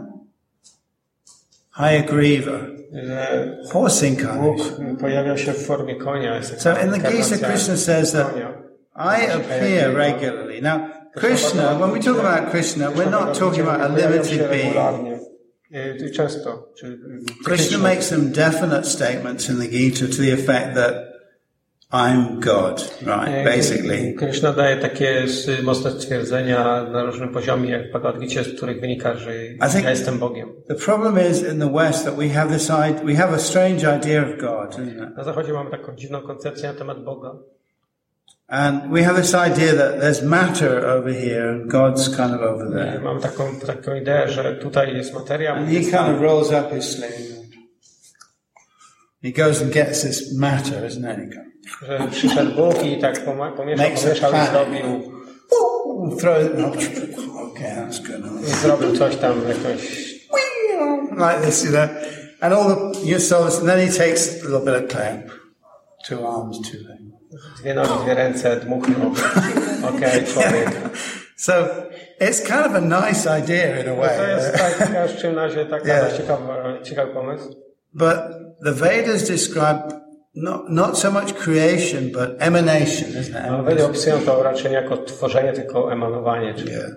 Hayagriva, Że horse Bóg incarnation. pojawia się w formie konia. Jest So taka in the Gita, inkarnacja Krishna says that konia. I appear regularly. Now, Krishna, when we talk about Krishna, we're not talking about a limited being. being. Często. Czy Krishna makes some definite statements in the Gita to the effect that I'm God, right, basically. Krishna daje takie s- mocne stwierdzenia na różnym poziomie, jak w Bhagavad Gita, z których wynika, że think- ja jestem Bogiem. The problem is in the West that we have this idea, we have a strange idea of God, isn't it? Na Zachodzie mamy taką dziwną koncepcję na temat Boga. And we have this idea that there's matter over here and God's kind of over there. Mam taką, taką ideę, że tutaj jest materia, And he kind of rolls up his sleeve. He goes and gets this matter, isn't it? He goes, że przyszedł Bóg i tak poma- pomieszał, Makes a pomieszał i plan. zrobił, throw it. Okay, that's good. i zrobił coś tam, jakąś, Like this, you know. And all the your souls, and then he takes a little bit of clay. Two arms, two legs. dwie nogi, dwie ręce, dmuchnął. Okej, człowiek. So it's kind of a nice idea in a way. To jest taka w czym razie taka Yeah. dość ciekawa, ciekawy pomysł. But the Vedas describe not, not so much creation, but emanation, isn't No, it? Wedy opisują to raczej nie jako tworzenie, tylko emanowanie. Czyli Yeah.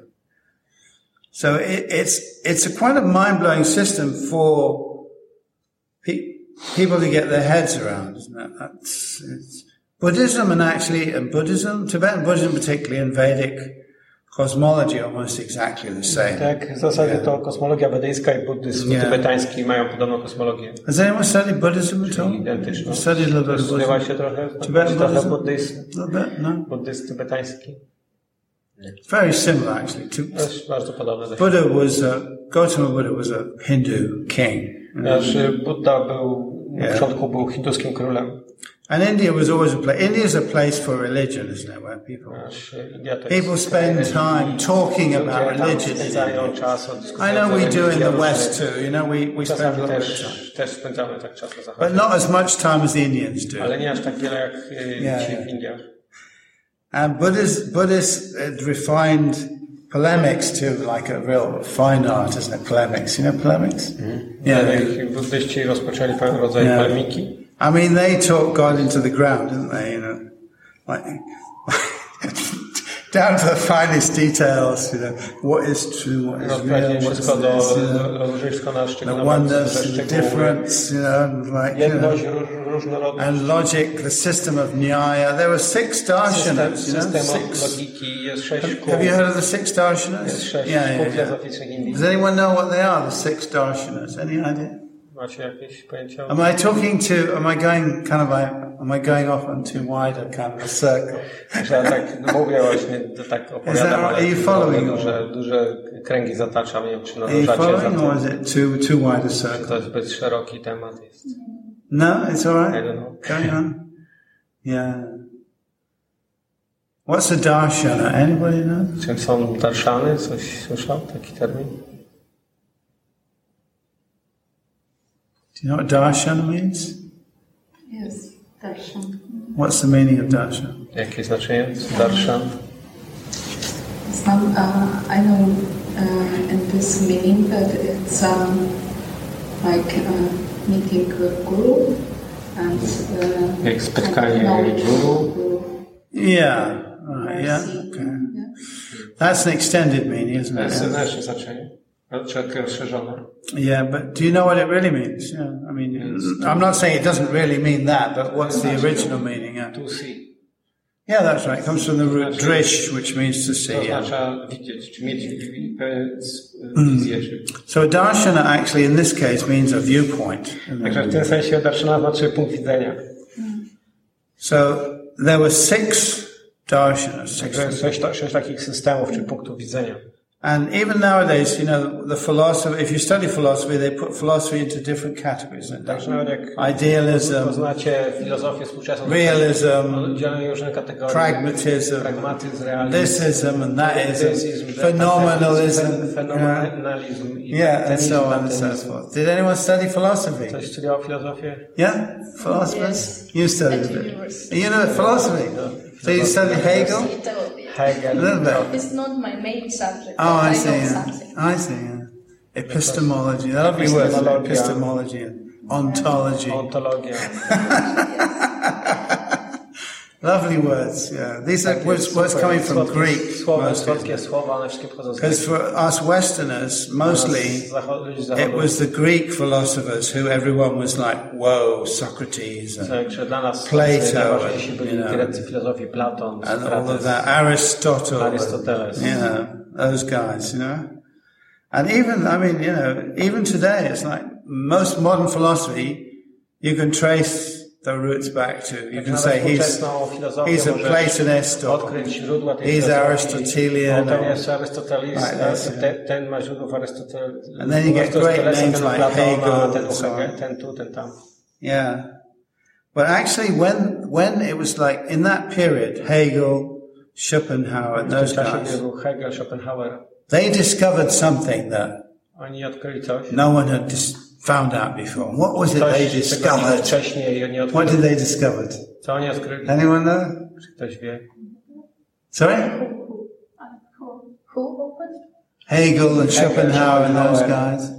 So it, it's it's a quite a mind-blowing system for pe- people to get their heads around, isn't it? That's, it's Buddhism and actually, and Buddhism, Tibetan Buddhism particularly, and Vedic cosmology almost exactly the same. tak, w zasadzie to kosmologia wedyjska i buddyzm Yeah. tybetański mają podobną kosmologię. Has anyone studied Buddhism at all? Identyczną. You've studied a little bit of Studiowałaś Buddhism? się trochę? Tibetan trochę Buddhism? buddyzm, A little bit, no? buddyzm tybetański. It's very similar actually. To, To jest bardzo podobne do siebie. Buddha was a, Gautama Buddha was a Hindu king. Ponieważ Buddha był, na Yeah. początku był hinduskim królem. And India was always a place. India is a place for religion, isn't it? Where people people spend time talking about religion. I know we do in the West too. You know, we we spend a lot of time, but not as much time as the Indians do. Yeah. And Buddhists Buddhists refined polemics to like a real fine art, isn't it? Polemics, you know, polemics. Mm-hmm. Yeah. Buddyści rozpoczęli pewien rodzaj yeah. polemiki. I mean, they talked God into the ground, didn't they? You know, like down to the finest details. You know, what is true, what is real, what is this, you know, the oneness, the difference. You know, like you know, and logic, the system of Nyaya. There were six darshanas. You know, six. Have, have you heard of the six darshanas? Yeah, yeah, yeah. Does anyone know what they are? The six darshanas? Any idea? Am I talking to, am I going kind of like, am I going off on too wide a kind of a circle? Is that right? Are you following? Duże, duże kręgi zataczam, nie wiem, czy Are you following or is it too, too wide a circle? To zbyt szeroki temat jest. No, it's alright. I don't know. Going on. Yeah. What's a darshana? Anybody know? Czym są darshany? Coś słyszał? Taki termin? Do you know what darshan means? Yes, darshan. What's the meaning of darshan? Jakie znaczenie darshan? Some, uh, I know uh, in this meaning that it's um, like uh, meeting a guru and uh, jak spotkanie guru. Yeah, right, yeah, okay. Yeah. That's an extended meaning, isn't it? That's nasze znaczenie. Yeah, but do you know what it really means? Yeah, I mean, yes. I'm not saying it doesn't really mean that, but what's the original meaning? Yeah. To see. Yeah, that's right. It comes from the root drish, which means to see. Yeah. Mm. So a darshana actually in this case means a viewpoint. So there were six darshanas. Six takich systemów czy punktów widzenia. And even nowadays, you know, the philosophy, if you study philosophy, they put philosophy into different categories. Idealism, realism, pragmatism, thisism and thatism, phenomenalism, yeah, and so on and so forth. Did anyone study philosophy? Yeah? Philosophers? You studied a bit. You know philosophy? So you studied Hegel? Hegel. A little bit. It's not my main subject. Oh, I, I see. Yeah. I see. Yeah. Epistemology. Lovely words. Epistemology and ontology. Ontologia. Lovely words. Yeah. These are words, words coming from Greek. Because for us Westerners, mostly it was the Greek philosophers who everyone was like, whoa, Socrates and Plato and, you know, and all of that, Aristotle, and, you know, those guys, you know. And even, I mean, you know, even today, it's like most modern philosophy, you can trace the roots back to. You can say he's he's a Platonist or he's Aristotelian. Or, like this, yeah. And then you get great names like Hegel and so on. Yeah. But actually when when it was like in that period, Hegel, Schopenhauer and those guys, they discovered something that no one had dis- found out before. What was it they discovered? What did they discover? Anyone know? Sorry? Hegel and Schopenhauer and those guys.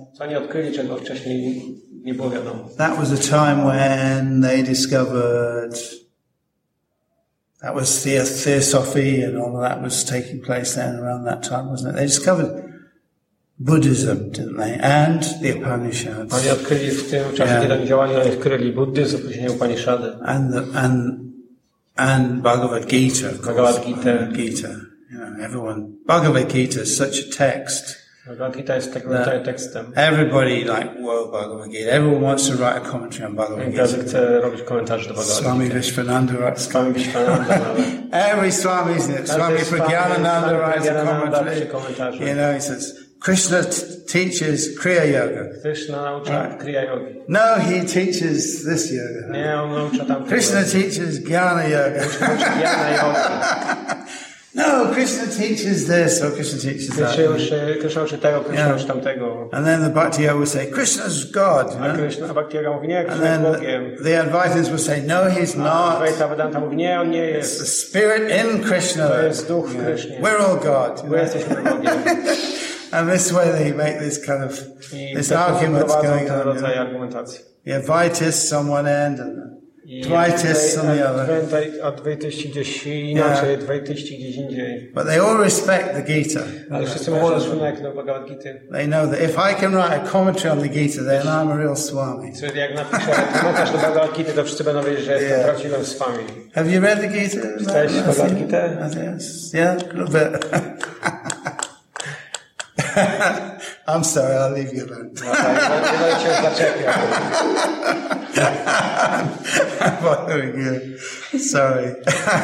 That was a time when they discovered, that was the Theosophy and all of that was taking place then around that time, wasn't it? They discovered Buddhism, didn't they? And the Upanishads. Oni odkryli w tym czasie, kiedy oni działali, oni odkryli buddyzm, później Upanishady. And the, and and Bhagavad Gita, of course. Bhagavad Gita. Gita. You know, everyone. Bhagavad Gita is such a text. Bhagavad Gita jest takim rodzajem tekstem. Everybody like, whoa, Bhagavad Gita. Everyone wants to write a commentary on Bhagavad Gita. Każdy chce robić komentarze do Bhagavad Gita. Swami Vishwananda writes. Swami Vishwananda. Every Swami, isn't it? Swami Pragyanananda writes a commentary. You know, he says, Krishna t- teaches Kriya Yoga. Krishna naucza Right. Kriya Yogi. No, he teaches this yoga. Nie, on naucza tam Krishna teaches Jnana Yoga. Jnana Yogi. No, Krishna teaches this or Krishna teaches that. Krishna uczy, Krishna uczy tego, Krishna Yeah. uczy tamtego. And then the Bhakti Yoga will say, Krishna's God. You A know? Krishna, a Bhakti Yoga mówi, nie, And Krishna jest then Bogiem. the, the Advaitins will say, no, he's A not. Advaita Vedanta mówi, nie, on nie It's jest. the spirit in Krishna. To jest duch w Krysznie. We're all God. You My know? jesteśmy Bogiem. And this way they make this kind of, I this tak arguments prowadzą going ten on. rodzaj You know? argumentacji. The Advaitists on one end and I the Dvaitists on the other. Adwenta- Adwaityści gdzieś inaczej, Dwaityści gdzieś indziej. But they all respect the Gita. Ale wszyscy mają szacunek do Bhagavad Gita. They know that if I can write a commentary on the Gita, then I'm a real Swami. Czyli jak napiszę komentarz do Bhagavad Gita, to wszyscy będą wiedzieć, że jestem Yeah. prawdziwym swami. Have you read the Gita? Czytałeś Bhagavad Gita? Yes. Yeah, a little bit. I'm sorry, I'll leave you alone. No tak, nie będę cię zaczepiał. I'm bothering you. Sorry.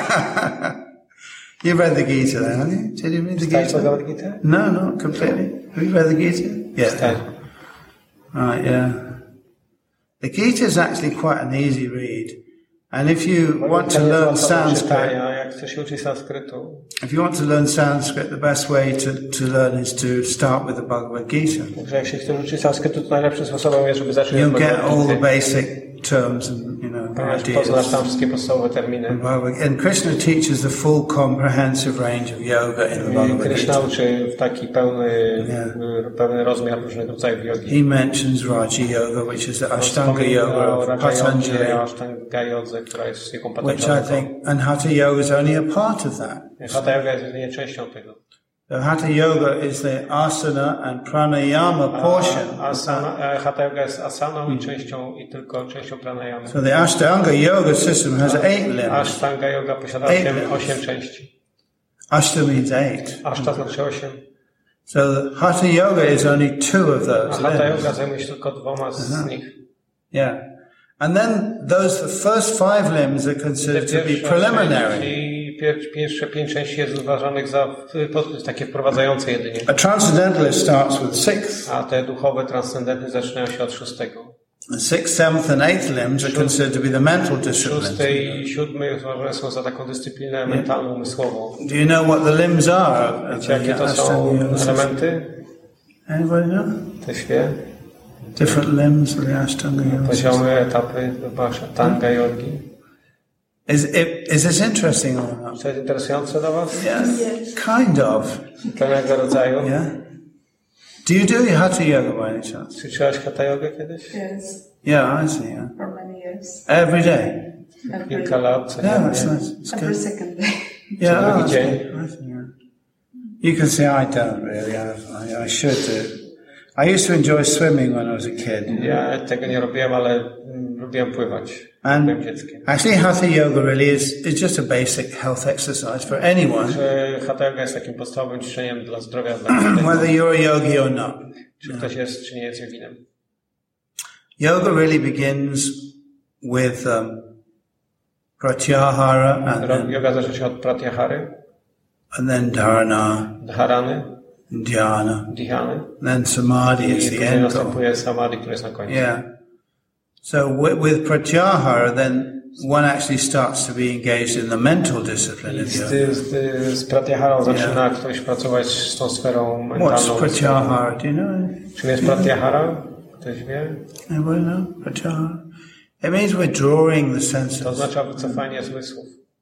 You've read the Gita then, haven't you? Did you read the Czytałeś Gita? Bhagavad Gita? No, not completely. Have you read the Gita? Yeah. Tak. Right, yeah. The Gita is actually quite an easy read. And if you want to learn Sanskrit, Jak chcesz się uczyć sanskrytu, if you want to learn Sanskrit, the best way to, to learn is to start with the Bhagavad Gita. także jak się chcesz uczyć sanskrytu, to najlepszym sposobem jest, żeby zacząć od You'll get Bhagavad all the Gita. basic terms and, you know, Ponieważ poznasz ideas. tam wszystkie podstawowe terminy. And Krishna teaches the full comprehensive range of yoga in the I Bhagavad Krishna Gita. uczy w taki pełny, Yeah. pełny rozmiar różnych rodzajów jogi. He mentions Raja Yoga, which is the Ashtanga Yoga of Patanjali, Ashtanga Yodze, która jest jego which I Patanjali. think, and Hatha Yoga is only a part of that. Hatha Yoga jest jedynie częścią tego. The Hatha Yoga is the asana and pranayama portion. A, asana, e, Hatha Yoga jest asaną i częścią, i tylko częścią pranayamy. So the Ashtanga Yoga system has eight limbs. Ashtanga Yoga posiada Eight osiem, limbs. osiem części. Ashta means eight. Ashta znaczy osiem. So the Hatha Yoga is only two of A those Hatha limbs. Yoga zajmuje się tylko dwoma z nich. Yeah. And then those the first five limbs are Te considered to be pierwsze preliminary. części, pier, pierwsze pięć części jest uważanych za pod, takie wprowadzające jedynie. A transcendentalist starts with sixth. A te duchowe, transcendentne zaczynają się od szóstego. The sixth, seventh and eighth limbs are considered to be the mental Szósty disciplines. i siódmy uważane są za taką dyscyplinę mentalną, umysłową. Do you know what the limbs are? of Wiecie, jakie the to są Ashtanga Yoga system? elementy? Anybody know? Ktoś wie? Different limbs of the Ashtanga Yoga system. Poziomy, etapy Ashtanga Yogi. Is, it, is this interesting or not? Czy to jest interesujące dla Was? Yeah, kind of. Pewnego rodzaju. Yeah. Do you do Hatha Yoga by any chance? Czy czytałaś Hatha Yogę kiedyś? Yes, Yeah, I see. Yeah. for many years. Every day. Every, Kilka lat. Yeah, that's codziennie. nice. It's every good. second day. Yeah, drugi oh, that's dzień. good. I see, yeah. You can see I don't really. I, I, I should do. I used to enjoy swimming when I was a kid. Ja tego nie robiłem, ale mm, lubiłem pływać. And Byłem dzieckiem. actually, Hatha Yoga really is, is just a basic health exercise for anyone, Że Hatha Yoga jest takim podstawowym ćwiczeniem dla zdrowia, dla każdego. whether you're a yogi or not. Czy ktoś jest, czy nie jest joginem. Yoga really begins with um, pratyahara and then, Yoga zaczyna się od pratyahary, and then dharana, dharany, dhyana, dhyany. then samadhi I is the później end goal. następuje samadhi, który jest na końcu. Yeah. So with, with pratyahara, then one actually starts to be engaged in the mental discipline I of z, yoga. z, z pratyaharą zaczyna ktoś pracować z tą sferą What's mentalną. pratyahara? Do you know? Czym jest pratyahara? Ktoś wie? Anybody know? Pratyahara? It means we're drawing the To senses. oznacza wycofanie zmysłów.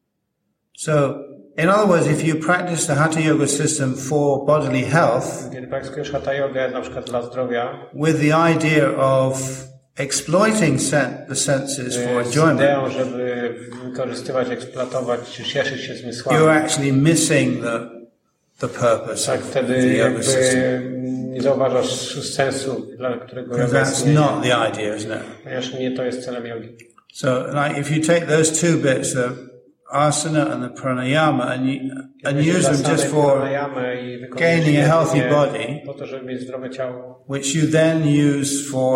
So, in other words, if you practice the Hatha Yoga system for bodily health, Kiedy praktykujesz Hatha Yogę na przykład dla zdrowia, with the idea of exploiting sen- the senses for z enjoyment, ideą, żeby wykorzystywać, eksploatować, czy cieszyć się you're zmysłami, actually missing the the purpose tak of wtedy the yoga jakby system. nie zauważasz sensu, dla którego Because yoga that's istnieje, not the idea, isn't it? ponieważ nie to jest celem jogi. So, like, if you take those two bits, the asana and the pranayama, and you, and Weźmiesz use them zasadę just for pranayamy i wykorzystujesz gaining a healthy je body, po to, żeby mieć zdrowe ciało, which you then use for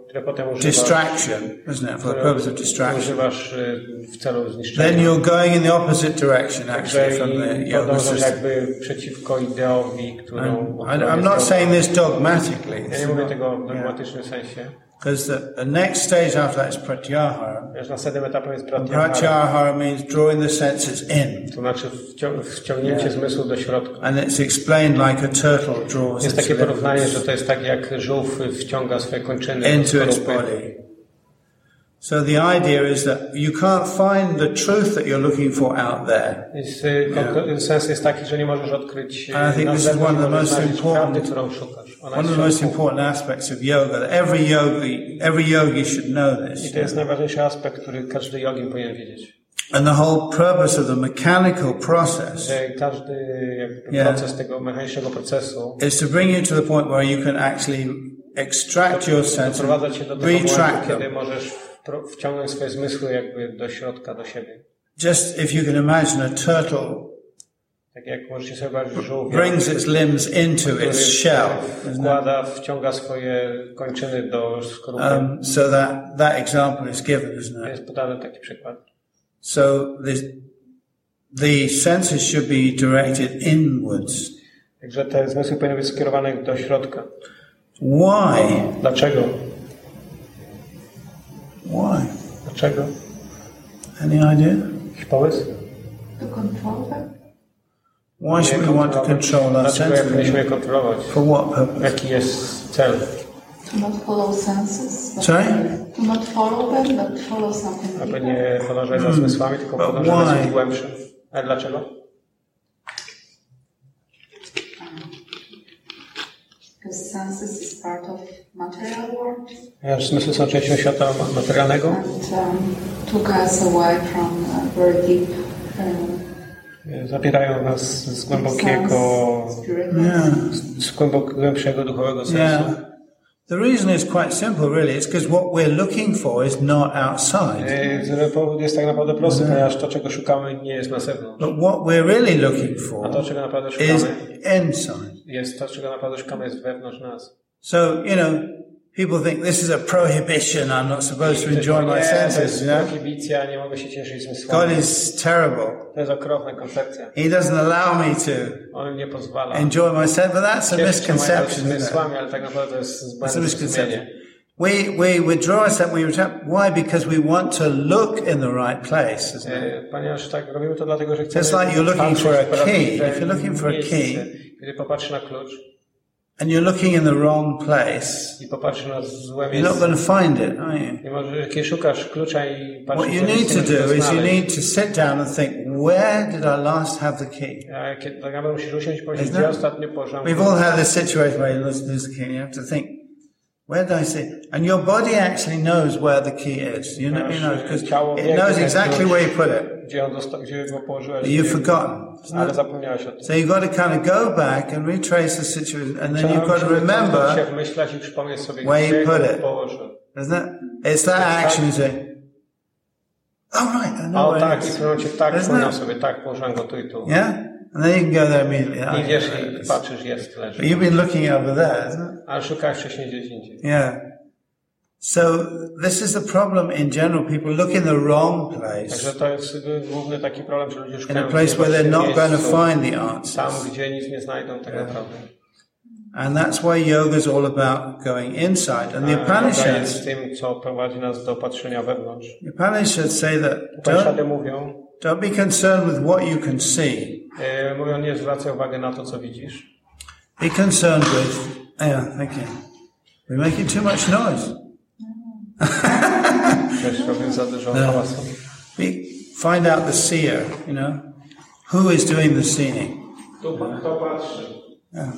które potem używasz, distraction, isn't it, for the purpose of distraction, używasz w celu zniszczenia. then you're going in the opposite direction, actually, from the yoga podążasz system. jakby przeciwko ideowi, którą... I'm, I'm not saying this dogmatically. Ja nie mówię tego w dogmatycznym sensie. Because the, the next stage after that is pratyahara. Wiesz, następnym etapem jest pratyahara. Pratyahara means drawing the senses in. To znaczy wcią- wciągnięcie yeah. zmysłu do środka. And it's explained like a turtle draws Jest takie porównanie, że to jest tak jak żółw wciąga swoje kończyny into its body. So the idea is that you can't find the truth that you're looking for out there. Jest, yeah. Sens jest taki, że nie możesz odkryć And I think this is one of the most important, prawdy, którą szukasz. Ona one of the most important aspects of yoga. That every yogi, every yogi should know this. I to jest najważniejszy aspekt, który każdy jogin powinien wiedzieć. And the whole purpose of the mechanical process, że każdy jakby yeah. proces tego mechanicznego procesu is to bring you to the point where you can actually extract your senses, retract them. Kiedy możesz wciągnąć swoje zmysły jakby do środka, do siebie. Just if you can imagine a turtle tak jak możecie sobie wyobrazić żółwia, brings its limbs into its shell, wkłada, wciąga swoje kończyny do skorupy. Um, so that, that example is given, isn't it? Jest podany taki przykład. So the, the senses should be directed inwards. Także te zmysły powinny być skierowane do środka. Why? Dlaczego? Why? Dlaczego? Any idea? Jakiś pomysł? To control them? Why should we want to control our Dlaczego senses? powinniśmy je kontrolować? For what purpose? Jaki jest cel? To not follow senses. But Sorry? To not follow them, but follow something Aby deeper. nie podążać za zmysłami, tylko But podążać za why? czymś głębszym. A dlaczego? Because senses is part of material world. Ponieważ zmysły są częścią świata materialnego. And um, took us away from a very deep um, Zabierają nas z głębokiego, Yeah. z głęboko, głębszego duchowego sensu. Yeah. The reason is quite simple, really. It's because what we're looking for is not outside. E, Powód jest tak naprawdę prosty, ponieważ to, czego szukamy, nie jest na zewnątrz. But what we're really looking A for to, czego naprawdę is szukamy, inside. jest to, czego naprawdę szukamy, jest wewnątrz nas. So, you know, people think this is a prohibition. I'm not supposed to enjoy my senses, you know? Prohibicja, nie mogę się cieszyć zmysłami. God is terrible. To jest okropna koncepcja. He doesn't allow me to On nie pozwala. enjoy my senses, but that's a Cieszyć się moimi misconception, isn't it? zmysłami, ale tak naprawdę to jest It's a zbędne misconception. zrozumienie. We, we withdraw ourselves, we retract. Why? Because we want to look in the right place, isn't it? E, Ponieważ tak robimy to dlatego, że chcemy Just like you're looking patrzeć for a w prawdziwe key. If you're looking for a miejsce. key, Kiedy popatrzysz na klucz and you're looking in the wrong place, i popatrzysz na złe you're not miejsce, going to find it, are you? nie możesz, kiedy szukasz klucza i patrzysz What you na need miejsce, to możesz do go is you znaleźć. need to sit down and think, where did I last have the key? A kiedy tak naprawdę musisz usiąść i powiedzieć, Isn't gdzie it? ostatnio położyłem We've all had this situation where you lose lose the key and you have to think, where did I see it? And your body actually knows where the key is. You know, you know, because it knows exactly where you put it. Gdzie, on dosta- gdzie go położyłeś, But you've forgotten. ale zapomniałeś o tym. So you've got to kind of go back and retrace the situation, and then you've got to Trzeba remember, się wmyślać i przypomnieć sobie, where you gdzie put go it. położył. isn't it? It's that action you say, oh right, I know O where tak, it i w is. tym momencie tak, Isn't wspomniał it? sobie, tak, położyłem go tu i tu. Yeah? And then you can go there immediately. Oh, I wiesz, yeah, there it i is. patrzysz, jest, leży. But you've been looking over there, isn't it? Ale szukałeś wcześniej gdzieś indziej. Yeah. So this is the problem in general. People look in the wrong place, Także to jest główny taki problem, że ludzie in szukają a place where they're not going to miejscu, find the tam, answers. gdzie nic nie znajdą tak naprawdę. And that's why yoga is all about going inside. And the A yoga Upanishads, jest tym, co prowadzi nas do patrzenia wewnątrz. the Upanishads say that Upanishady don't, mówią, don't be concerned with what you can see. e, mówią, nie zwracaj uwagi na to, co widzisz. Be concerned with, yeah, thank you. We're making too much noise. Też robią za dużo No. hałasu. Be, find out the seer, you know. Who is doing the seeing? Tu kto patrzy? Yeah.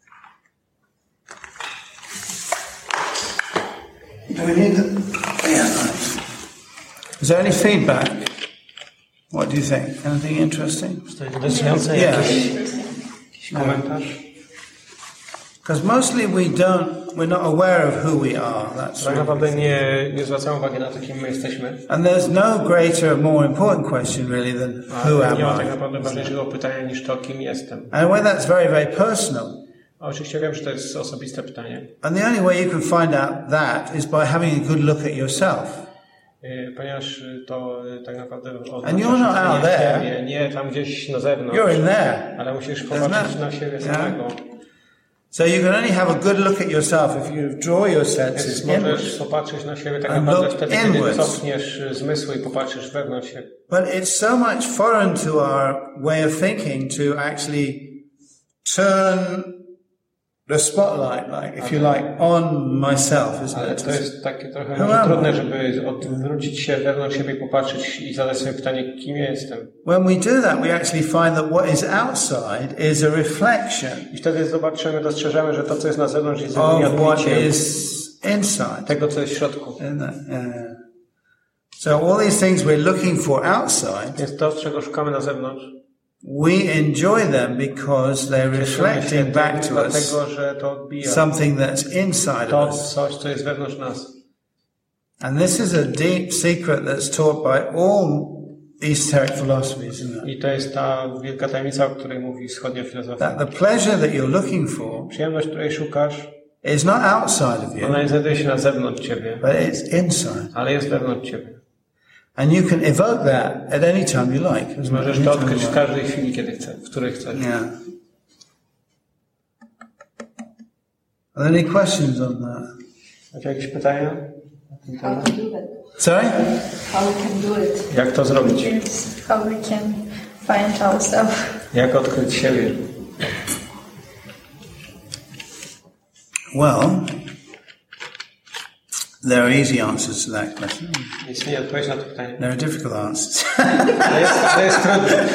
Do we need the, yeah, nice. Is there any feedback? What do you think? Anything interesting? To jest interesujące, Yeah. jakiś, jakiś komentarz? Because mostly we don't, we're not aware of who we are. That's Tak right. naprawdę nie, nie zwracamy uwagi na to, kim my jesteśmy. And there's no greater, more important question really than who A am nie ma tak I? naprawdę ważniejszego pytania niż to, kim jestem. And when that's very, very personal, Oczywiście wiem, że to jest osobiste pytanie. And the only way you can find out that is by having a good look at yourself. Ponieważ to tak naprawdę And you're not out there. Nie, nie tam gdzieś na zewnątrz. You're in there. Ale musisz popatrzeć na siebie samego. So you can only have a good look at yourself if you draw your senses inwards. Możesz popatrzeć na siebie tak naprawdę wtedy, kiedy cofniesz zmysły i popatrzysz wewnątrz siebie. But it's so much foreign to our way of thinking to actually turn the spotlight, like, if you like, on myself, isn't Ale it? to jest takie trochę może trudne, żeby odwrócić się wewnątrz siebie, popatrzeć i zadać sobie pytanie, kim ja jestem. When we do that, we actually find that what is outside is a reflection. I wtedy zobaczymy, dostrzeżemy, że to, co jest na zewnątrz, jest of what odbiciem is inside. tego, co jest w środku. Isn't it? Yeah. So all these things we're looking for outside, Jest to, czego szukamy na zewnątrz. we enjoy them because they're reflecting back to us dlatego, że to odbija something that's inside to of us. coś, co jest wewnątrz nas. And this is a deep secret that's taught by all esoteric philosophies, isn't it? I to jest ta wielka tajemnica, o której mówi wschodnia filozofia. That the pleasure that you're looking for Przyjemność, której szukasz, is not outside of you, ona nie znajduje się na zewnątrz ciebie, but it's inside. ale jest wewnątrz ciebie. And you can evoke that at any time you like. isn't it? Możesz to odkryć w każdej chwili, kiedy chcesz, w której chcesz. Yeah. Are there any questions on that? Macie jakieś pytania? How to do that? Sorry? How we can do it? Jak to zrobić? It's how we can find ourselves. Jak odkryć siebie? Well, there are easy answers to that question. Istnieje odpowiedź na to pytanie. There are difficult answers. To jest, to jest trudne.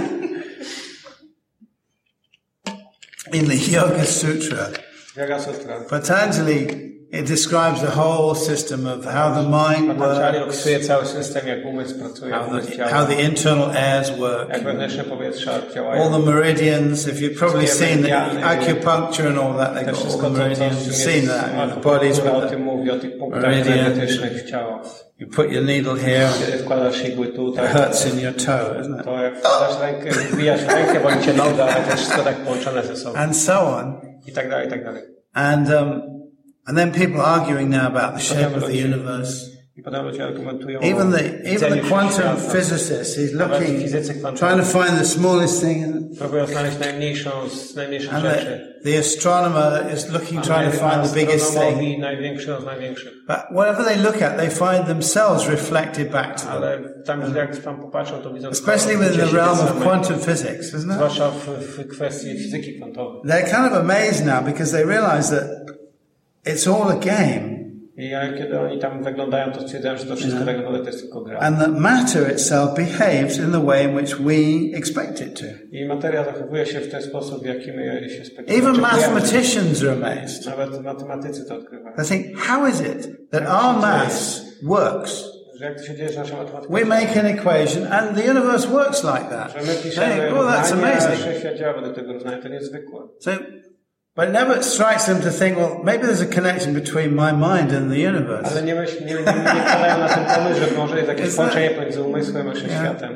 In the Yoga Sutra, Yoga Sutra. Patanjali, it describes the whole system of how the mind Patanjali works, opisuje cały system, jak umysł pracuje, jak how umysł the, działa, how the internal airs work, jak wewnętrzne powietrza all działają. the meridians. If you've probably seen the acupuncture and all that, they've To got all wszystko, the co, co meridians. You've seen jest, that in the bodies o with tym the mówi, o tych punktach meridian. energetycznych w ciało. You put your needle here, Kiedy wkładasz igły tu, it tak, hurts in your toe, isn't it? to jak wkładasz rękę, wbijasz rękę, boli cię noga, ale to jest wszystko tak połączone ze sobą. And so on. I tak dalej, i tak dalej. And um, and then people arguing now about the shape of the universe. I potem ludzie argumentują Even the o even the widzeniu quantum świata. physicist, he's Nawet looking, fizycy kwantowi trying to find the smallest thing, and, próbują znaleźć najmniejszą z najmniejszych and rzeczy. the, the astronomer is looking, trying to find the biggest thing. Astronomowi największą z największych. But whatever they look at, they find themselves reflected back to them. Ale tam jak tam popatrzą, to widzą Especially within the realm of quantum physics, isn't it? zwłaszcza w, w kwestii fizyki kwantowej. They're kind of amazed now because they realize that it's all a game. I kiedy oni tam wyglądają, to stwierdzają, że to wszystko tak naprawdę to jest tylko gra. And that matter itself behaves in the way in which we expect it to. I materia zachowuje się w ten sposób, w jaki my się spodziewamy. Even mathematicians are amazed. Nawet matematycy to odkrywają. They think, how is it that our maths works? Że jak to się dzieje, że nasza matematyka... We make an equation and the universe works like that. Że my piszemy They think, oh, that's równania, a amazing. wszechświat działa według tego równania, to niezwykłe. So, but it never strikes them to think, well, maybe there's a connection between my mind and the universe. Ale nie, myśl, nie, nie, nie wpadają na ten pomysł, że może jest jakieś połączenie pomiędzy umysłem a wszechświatem.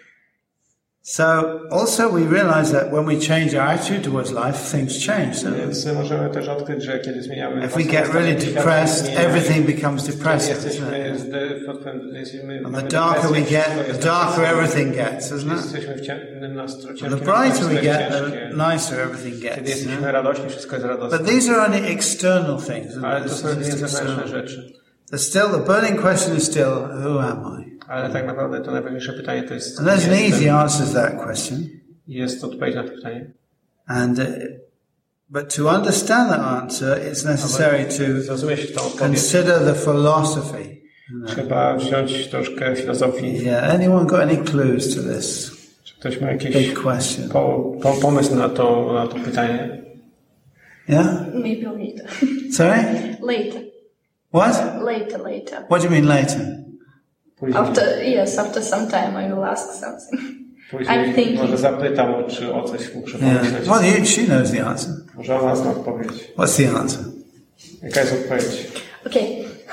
So also we realize that when we change our attitude towards life, things change. So Więc możemy też odkryć, że kiedy zmieniamy... if we get really depressed, everything becomes depressed. Jesteśmy, jesteśmy, And the darker we get, the darker everything gets, isn't it? Jesteśmy w ciemnym nastroju, And the brighter we get, the nicer everything Kiedy gets. jesteśmy radośni, wszystko jest radosne. But these are only external things. Isn't Ale it? to It's są jedynie just zewnętrzne external. rzeczy. There's still, the burning question is still, who am I? Ale tak naprawdę to najważniejsze pytanie to jest... And there's an jestem. easy answer to that question. Jest odpowiedź na to pytanie. And, uh, but to understand that answer, it's necessary to Zrozumieć tą odpowiedź. consider the philosophy. Trzeba wziąć troszkę filozofii. Yeah, anyone got any clues to this Czy ktoś ma jakiś big question? po, po, pomysł na to, na to pytanie? Yeah? Maybe later. Sorry? Later. What? Later, later. What do you mean later? Później, After, yes, after some time I will ask something. I'm później thinking. może zapytam, o, czy o coś muszę Yeah. pomyśleć. Well, you, she knows the answer. Może ona zna odpowiedź. What's the answer? Jaka jest odpowiedź? Okay,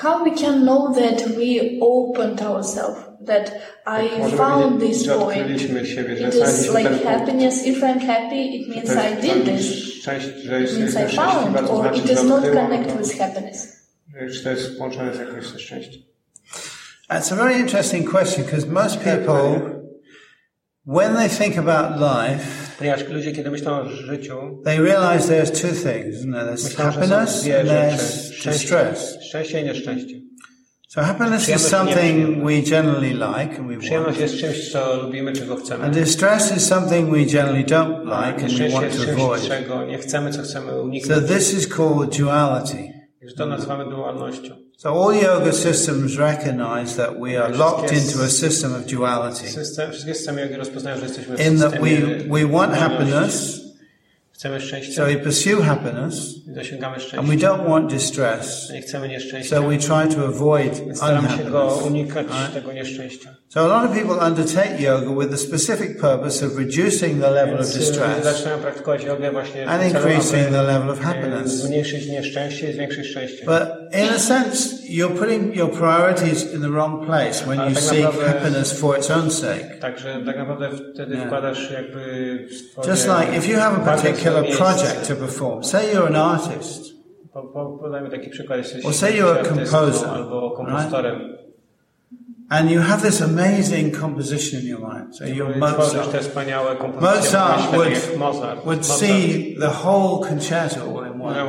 how we can know that we opened ourselves, that I found this point. It is like happiness. If I'm happy, it means I did this. It means I found, or it does not connect with happiness. Czy to jest połączone z jakimś szczęściem? That's a very interesting question, because most people, when they think about life, ponieważ ludzie, kiedy myślą o życiu, they realize there's two things, isn't there? There's happiness and there's distress. Szczęście i nieszczęście. So happiness is something we generally like and we Przyjemność want. jest czymś, co lubimy, czego chcemy. And distress is something we generally don't like and we want to avoid. Czego nie chcemy, co chcemy uniknąć. So this is called duality. Już to nazywamy dualnością. So all yoga systems recognize that we are locked into a system of duality. System, wszystkie systemy jogi rozpoznają, że jesteśmy w In that systemie we we want happiness. Chcemy szczęścia. So we pursue happiness. Dosięgamy szczęścia. And we don't want distress. Nie chcemy nieszczęścia. So we try to avoid Staramy się go unhappiness. unikać tego nieszczęścia. So a lot of people undertake yoga with the specific purpose of reducing the level of distress Zaczynają praktykować jogę właśnie and increasing the level of happiness. Zmniejszyć nieszczęście i zwiększyć szczęście. But in a sense, you're putting your priorities in the wrong place when you seek happiness for its own sake. Także tak naprawdę wtedy wkładasz jakby swoje... Just like if you have a particular project to perform, say you're an artist, podajmy taki przykład, jesteś or say you're a composer, albo kompozytorem. Right? And you have this amazing composition in your mind. So you're Mozart. Mozart would, would see the whole concerto all in one.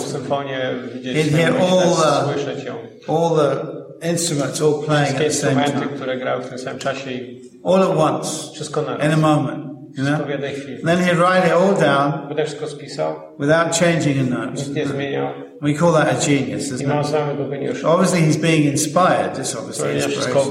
He'd hear all the, all the instruments all playing at the same time. All at once, in a moment. You know? Then he'd write it all down without changing a note. We call that a genius, isn't it? Obviously he's being inspired. This obviously inspiration.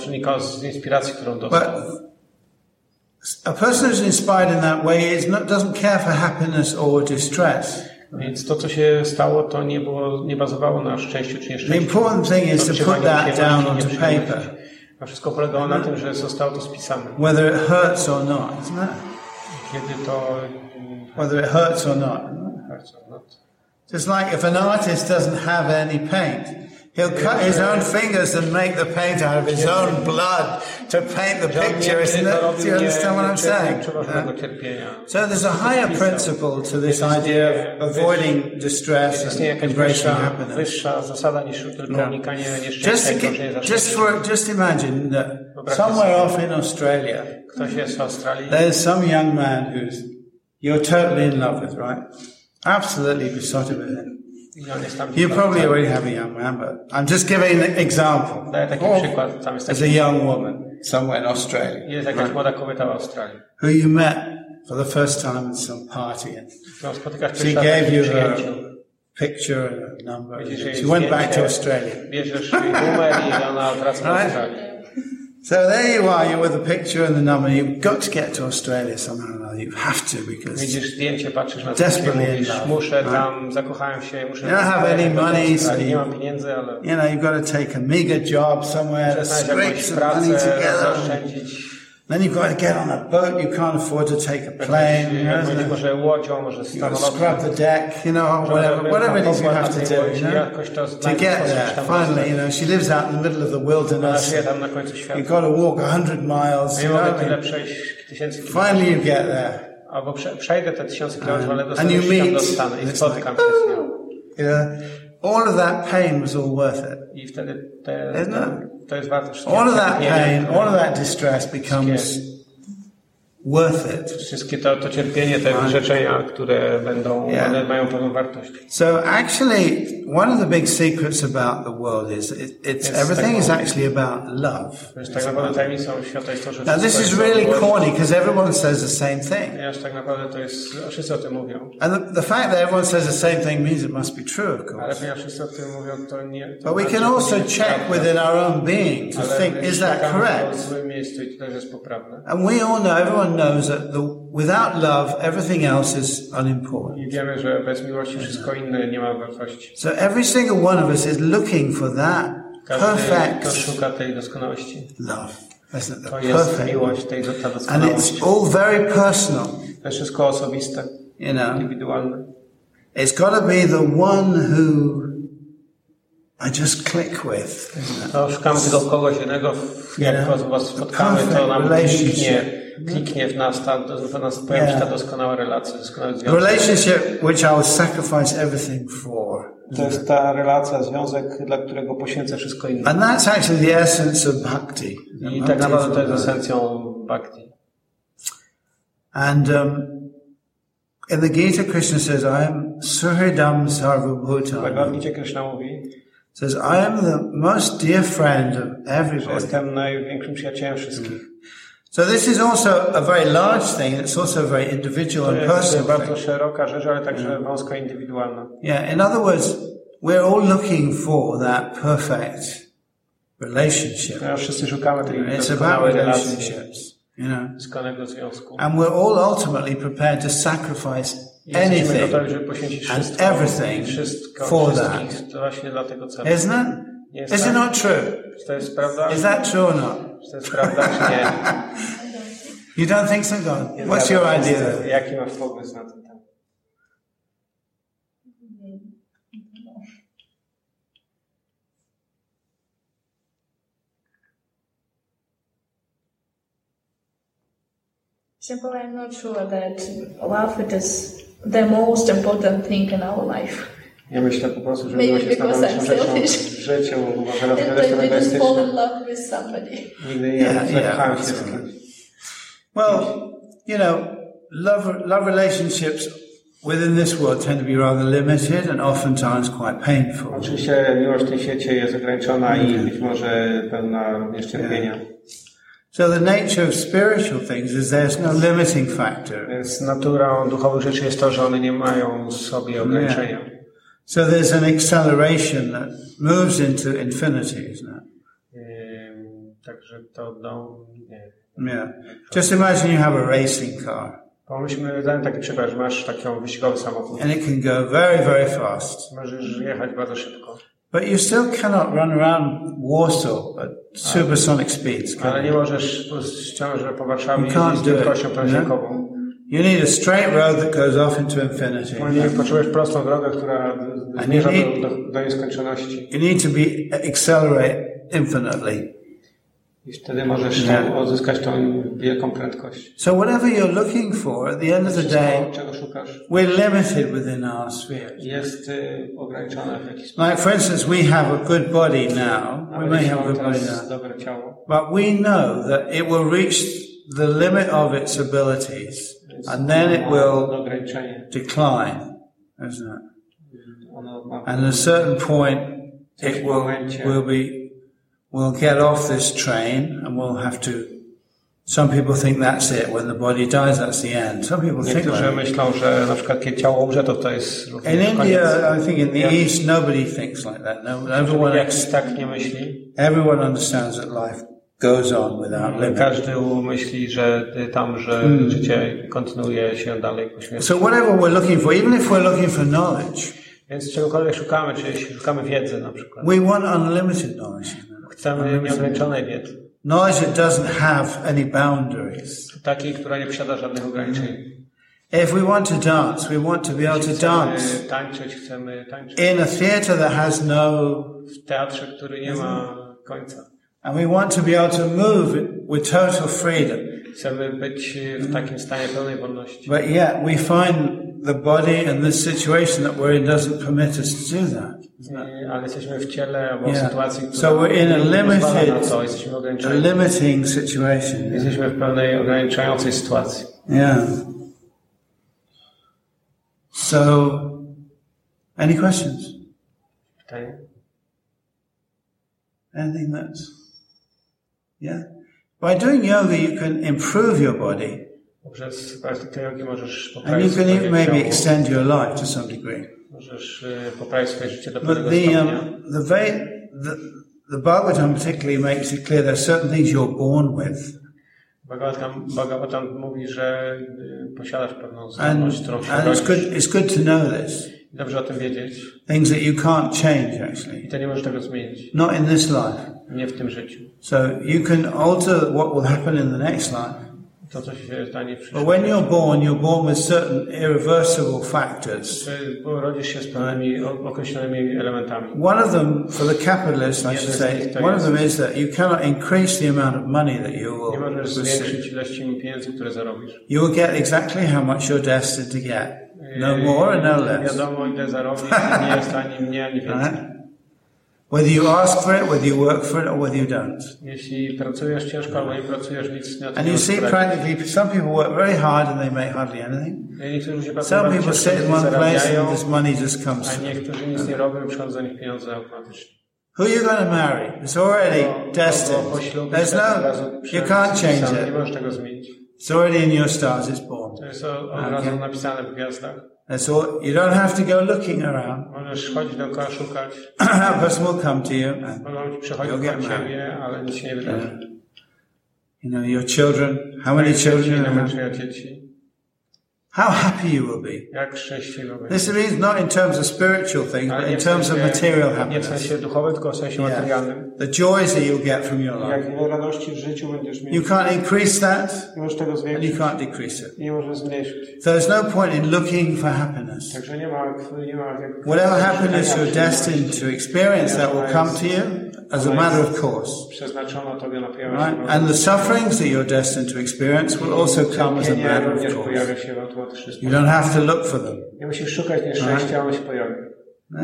But a person who's inspired in that way is not, doesn't care for happiness or distress. Więc to, co się stało, to nie było, nie bazowało na szczęściu czy nieszczęściu. The important thing is to put that down onto paper. A wszystko polegało na tym, że zostało to spisane. Whether it hurts or not, isn't it? Kiedy to... Whether it hurts or not. Hurts or not. Just like if an artist doesn't have any paint, he'll cut his own fingers and make the paint out of his own blood to paint the picture, isn't it? Do you understand what I'm saying? Yeah. So there's a higher principle to this idea of avoiding distress and embracing happiness. Just, to get, just for, just imagine that somewhere off in Australia, there's some young man who's you're totally in love with, right? Absolutely besotted with him. You probably already have a young man, but I'm just giving an example. Or as a young woman somewhere in Australia, right? Who you met for the first time at some party, and she gave you her picture and a number. And she went back to Australia. Right? So there you are, you're with the picture and the number. You've got to get to Australia somehow or another. You have to, because desperately in love. Right? You don't have any money, so you, you know, you've got to take a meager job somewhere to scrape some money together. Then you've got to get on a boat. You can't afford to take a plane. You know, you've got to scrub the deck, you know, whatever, whatever it is you have to do, you know, to get there. Finally, you know, she lives out in the middle of the wilderness. You've got to walk a hundred miles. You know, finally, you get there. And, and you meet. It's like, oh, you know, all of that pain was all worth it. Isn't it? All of that pain, all of that distress becomes worth it. Wszystkie to, to cierpienie, te wyrzeczenia, które będą, one mają pewną wartość. So actually, one of the big secrets about the world is it, it's everything is actually about love. Tak naprawdę tajemnicą świata jest to, że now this is really corny because everyone says the same thing. Tak naprawdę to jest, wszyscy o tym mówią. And the, the fact that everyone says the same thing means it must be true, of course. Ale ponieważ wszyscy o tym mówią, to nie. But we can also check within our own being to think, is that correct? And we all know, everyone knows that the, without love, everything else is unimportant. I wiemy, że bez miłości wszystko inne nie ma wartości. So every single one of us is looking for that perfect love. Isn't it? The perfect. And it's all very personal. To jest wszystko osobiste, you know, indywidualne. It's got to be the one who I just click with. To szukamy tego kogoś jednego, jak was spotkamy, to nam kliknie, kliknie w nas, ta, w nas pojawi się ta doskonała relacja, doskonały związek. Relationship which I will sacrifice everything for. To jest ta relacja, związek, dla którego poświęcę wszystko inne. And that's actually the essence of bhakti. I tak naprawdę to jest esencją bhakti. And um, in the Gita, Krishna says, I am Suhridam Sarvabhutam. Bhagavad Gita Krishna mówi, says, I am the most dear friend of everybody. Jestem największym przyjacielem wszystkich. So this is also a very large thing. It's also a very individual and personal thing. To jest bardzo szeroka rzecz, ale także wąska indywidualna. Yeah, in other words, we're all looking for that perfect relationship. Ja wszyscy szukamy tej doskonałej relacji, you know. Doskonanego związku. And we're all ultimately prepared to sacrifice anything and everything for that. Isn't it? Is it not true? Is that true or not? You don't think so, God? What's your idea? Jaki masz pomysł na ten temat? Simple, I'm not sure that love it is the most important thing in our life. Ja myślę po prostu, że miłość jest najważniejszą rzeczą w życiu, może rozwiązać to egoistyczne. Nigdy nie zakochałem się z kimś. Well, you know, love, love relationships within this world tend to be rather limited and oftentimes quite painful. Oczywiście miłość w tym świecie jest ograniczona i być może pełna również cierpienia. So the nature of spiritual things is there's no limiting factor. Więc naturą duchowych rzeczy jest to, że one nie mają w sobie ograniczenia. Yeah. So there's an acceleration that moves into infinity, isn't it? Um, także to do, nie. Yeah. Just imagine you have a racing car. Pomyślmy, dajmy taki przykład, że masz taki wyścigowy samochód. And it can go very, very fast. Możesz jechać bardzo szybko. But you still cannot run around Warsaw at supersonic speeds. Ale nie możesz wciąż po Warszawie jeździć z prędkością prężnikową. You need a straight road that goes off into infinity. Potrzebujesz prostą drogę, która zmierza do, do, do nieskończoności. You need to be accelerate infinitely. I wtedy możesz yeah. uzyskać tą wielką prędkość. So whatever you're looking for, at the end of the day, czego szukasz, we're limited within our sphere. Jest y, ograniczone w jakiś sposób. Like for instance, we have a good body now. We may have a good body now. Dobre ciało. But we know that it will reach the limit of its abilities. And then it will decline, isn't it? And at a certain point, it will, will be, we'll get off this train and we'll have to, some people think that's it. When the body dies, that's the end. Some people think that. myślą, że na przykład kiedy ciało umrze, to to jest in India, I think in the East, nobody thinks like that. No, everyone, tak nie myśli. Everyone understands that life goes on without limit. Każdy myśli, że tam, że mm. życie kontynuuje się dalej po śmierci. So whatever we're looking for, even if we're looking for knowledge, więc czegokolwiek szukamy, czy jeśli szukamy wiedzy na przykład. We want unlimited knowledge. Chcemy nieograniczonej wiedzy. Knowledge that doesn't have any boundaries. Takiej, która nie posiada żadnych ograniczeń. If we want to dance, we want to be able to dance. Chcemy tańczyć, chcemy tańczyć. In a theater that has no... W teatrze, który nie ma końca. And we want to be able to move with total freedom. Chcemy być w takim stanie pełnej wolności. But yet we find the body and this situation that we're in doesn't permit us to do that. Ale jesteśmy w ciele albo w yeah. sytuacji, która so we're in a limited, to. Jesteśmy a limiting situation. Yeah. Jesteśmy w pewnej ograniczającej sytuacji. Yeah. So, any questions? Pytanie? Anything that's, yeah? By doing yoga, you can improve your body. Poprzez praktykę jogi możesz poprawić and you can even maybe ciało. Extend your life to some degree. Możesz poprawić swoje życie do pewnego stopnia. Um, the, very, the, the Bhagavatam particularly makes it clear there are certain things you're born with. Bhagavatam, Bhagavatam mówi, że posiadasz pewną zdolność, którą się and it's good, it's good to know this. Dobrze o tym wiedzieć. Things that you can't change, actually. I to nie możesz tego zmienić. Not in this life. Nie w tym życiu. So you can alter what will happen in the next life. To, co się stanie w But przyszłości. when you're born, you're born with certain irreversible factors. Bo rodzisz się z pewnymi określonymi elementami. One of them, for the capitalist, I should say, one of them is that you cannot increase the amount of money that you Nie will możesz receive. zwiększyć ilości pieniędzy, które zarobisz. You will get exactly how much you're destined to get. No more and no less. Wiadomo, ile zarobisz, nie jest ani mniej, ani więcej. Whether you ask for it, whether you work for it, or whether you don't. Jeśli pracujesz ciężko, albo nie pracujesz, nic nie And you see practically, some people work very hard and they make hardly anything. Some people sit in one place and this money just comes. A niektórzy nic nie robią, przychodzą do nich pieniądze automatycznie. Who are you going to marry? It's already destined. There's no, you can't change Nie możesz it. tego zmienić. It's already in your stars, it's born. To jest od razu napisane w gwiazdach. That's all. You don't have to go looking around. Możesz chodzić dookoła, szukać. A person will come to you and Mogą ci przychodzić you'll do get married. ciebie, ale nic się nie wydarzy. You know, your children, how many children you Ile masz have? dzieci? How happy you will be. Jak szczęśliwy This means not in terms of spiritual things, but in terms of material Nie w happiness. sensie duchowym, tylko w sensie Yeah. materialnym. The joys that you'll get from your life. Jak wiele radości w życiu będziesz mieć. You can't increase that, Nie możesz tego and you zwiększyć. can't decrease it. I nie możesz zmniejszyć. So there's no point in looking for happiness. Także nie ma, nie ma jak... Whatever happiness you're destined to experience, that will come to you as a matter of course. Przeznaczono tobie na pojawienie Right? się. And the sufferings that you're destined to experience will also come as a matter of również course. pojawia się w automatyczny You sposób. don't have to look for them. Nie musisz szukać nieszczęścia, ono się pojawi. No?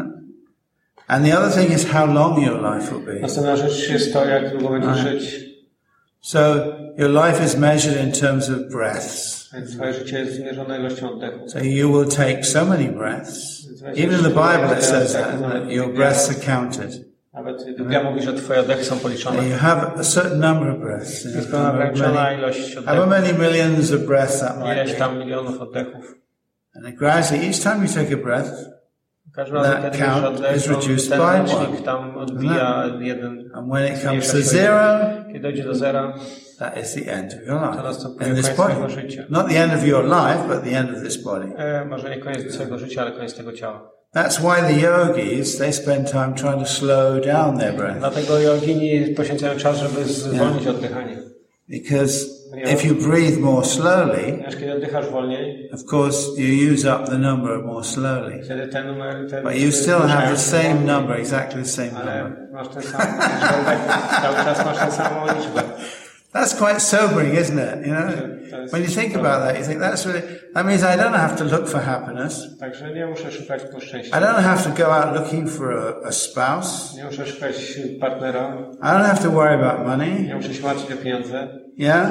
And the other thing is how long your life will be. Następna rzecz jest to, jak długo będziesz żyć. So your life is measured in terms of breaths. Więc twoje życie jest zmierzone ilością oddechu. So you will take so many breaths. Even in the Bible it says that, that your breaths are counted. Nawet Biblia mówi, że twoje oddechy są policzone. And you have a certain number of breaths. Jest pełna ograniczona ilość However oddechów. many millions of breaths that might Ileś be. tam milionów oddechów. And it gradually, each time you take a breath, Każdy razem, That kiedy count bierzesz oddech, is reduced ten by one. licznik tam odbija jeden. and when it comes zmniejsza to się zero, Kiedy dojdzie do zera, that is the end of your life. to następuje In this koniec twojego body. życia. Not the end of your life, but the end of this body. E, może nie koniec twojego życia, ale koniec tego ciała. That's why the yogis, they spend time trying to slow down their breath. Dlatego jogini poświęcają czas, żeby zwolnić oddychanie. Because if you breathe more slowly, Ponieważ kiedy oddychasz wolniej, of course, you use up the number more slowly. wtedy ten numer... Ten, But you still have the same number, exactly the same Ale number. masz ten sam liczbę oddechów. Cały czas masz tę samą liczbę. That's quite sobering, isn't it? You know, when you think about that, you think that's really, that means I don't have to look for happiness. Także nie muszę szukać po szczęścia. I don't have to go out looking for a, a spouse. Nie muszę szukać partnera. I don't have to worry about money. Nie muszę się martwić o pieniądze. Yeah?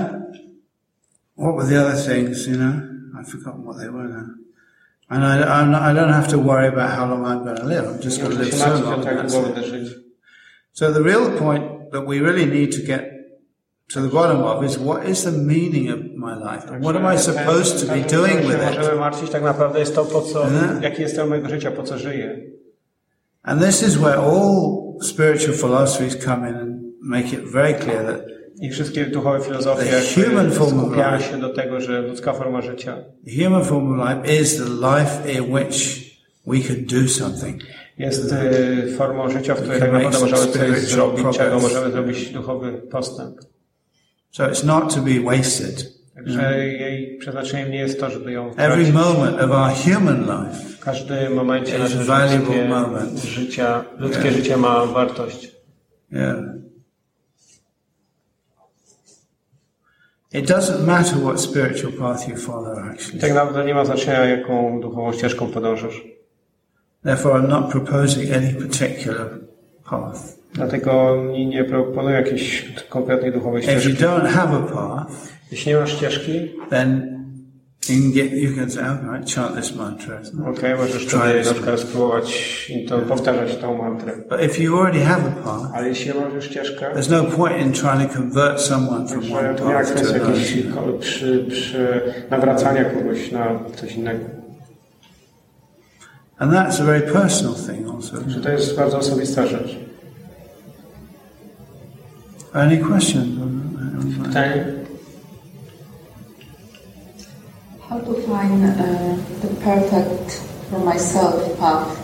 What were the other things, you know? I've forgotten what they were now. And I, I'm not, I don't have to worry about how long I'm going to live. I'm just Nie going to muszę live się so martwić o long. to, jak That's długo it. będę żyć. So the real point that we really need to get to the bottom of is what is the meaning of my life? And what am I supposed to be doing with Możemy it? martwić tak naprawdę jest to, po co, Mhm. jaki jest cel mojego życia, po co żyję. And this is where all spiritual philosophies come in and make it very clear that I wszystkie duchowe filozofie The human form of skupiają life. się do tego, że ludzka forma życia the human form of life is the life in which we can do something. jest y, formą życia, w której can tak naprawdę make możemy coś spiritual zrobić, progress. czego możemy zrobić duchowy postęp. So it's not to be wasted. Także jej przeznaczeniem nie jest to, żeby ją Every tracić. moment of our human life W każdym momencie is naszego valuable ludzkie moment. życia, ludzkie Yeah. życie ma wartość. Yeah. It doesn't matter what spiritual path you follow, I actually. tak naprawdę nie ma znaczenia, jaką duchową ścieżką podążasz. Therefore, I'm not proposing any particular path. Dlatego nie, nie proponuję jakiejś konkretnej duchowej If you ścieżki. don't have a path, Jeśli nie masz ścieżki, then you can get, you can say, all right, chant this mantra. isn't it? okej, okay, możesz Try wtedy this. na przykład spróbować i to, powtarzać tą mantrę. But if you already have a path, Ale jeśli nie masz już ścieżkę, there's no point in trying to convert someone from to one nie ma path to kwestii another. jakiejś ko- przy, przy nawracania kogoś na coś innego. And that's a very personal thing also. Że to jest bardzo osobista rzecz. Any questions? Pytanie? How to find uh, the perfect for myself path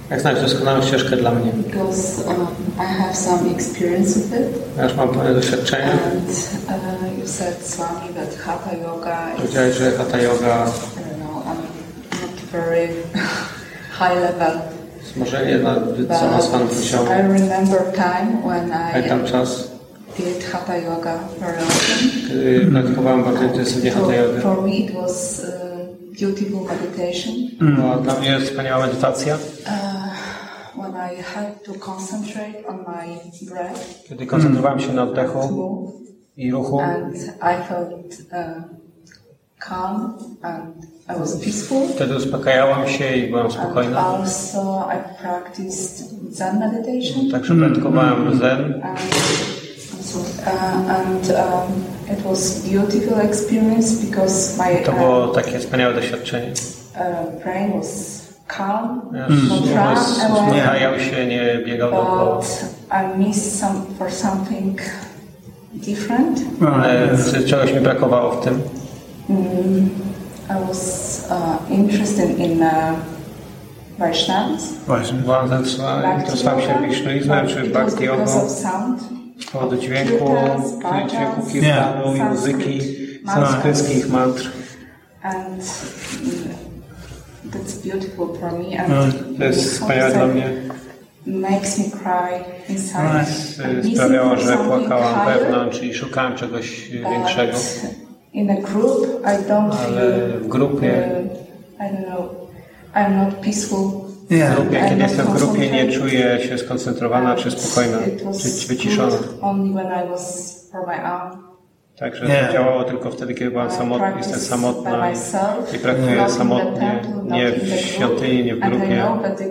Jak znaleźć doskonałą ścieżkę dla mnie? Because um, I have some experience with it. Ja już mam pewne doświadczenie. And uh, you said, Swami, that Hatha Yoga is... Powiedziałeś, że Hatha Yoga... I don't know, I'm not very high level. Może nie na zaawansowanym poziomie. I remember time when I Pamiętam czas, did Hatha Yoga very often. kiedy praktykowałem bardzo intensywnie Hatha Yoga. For me it was uh, beautiful meditation. Była dla mnie wspaniała medytacja. Uh, when I had to concentrate on my breath. Kiedy koncentrowałem się na oddechu i ruchu. And I felt uh, calm and I was peaceful. Wtedy uspokajałam się i byłam spokojna. And also I practiced Zen meditation. Także praktykowałem Zen. And, uh, and um, it was beautiful experience because my To było takie wspaniałe doświadczenie. uh, brain was calm, Mm. not run away. Uspokajał się, nie biegał dookoła. But I missed some for something different. Ale czegoś mi brakowało w tym. Mm, I was uh, interested in uh, Vaishnavas. Byłam zainteresowałem się wisznuizmem czy bhakti jogą z powodu dźwięku, dźwięku kirtanu i muzyki sanskryckich mantr. And mm, that's beautiful for me. And To jest wspaniałe dla mnie. Makes me cry inside. Sprawiało, że płakałam wewnątrz i szukałem czegoś większego. In a group, I don't Ale w grupie, I don't know, I'm not peaceful. w grupie, kiedy jestem w grupie, nie czuję się skoncentrowana, czy spokojna, czy wyciszona. Only when I was for my own. Także to działało tylko wtedy, kiedy byłam samotna, jestem samotna i praktykuję samotnie, nie w świątyni, nie w grupie.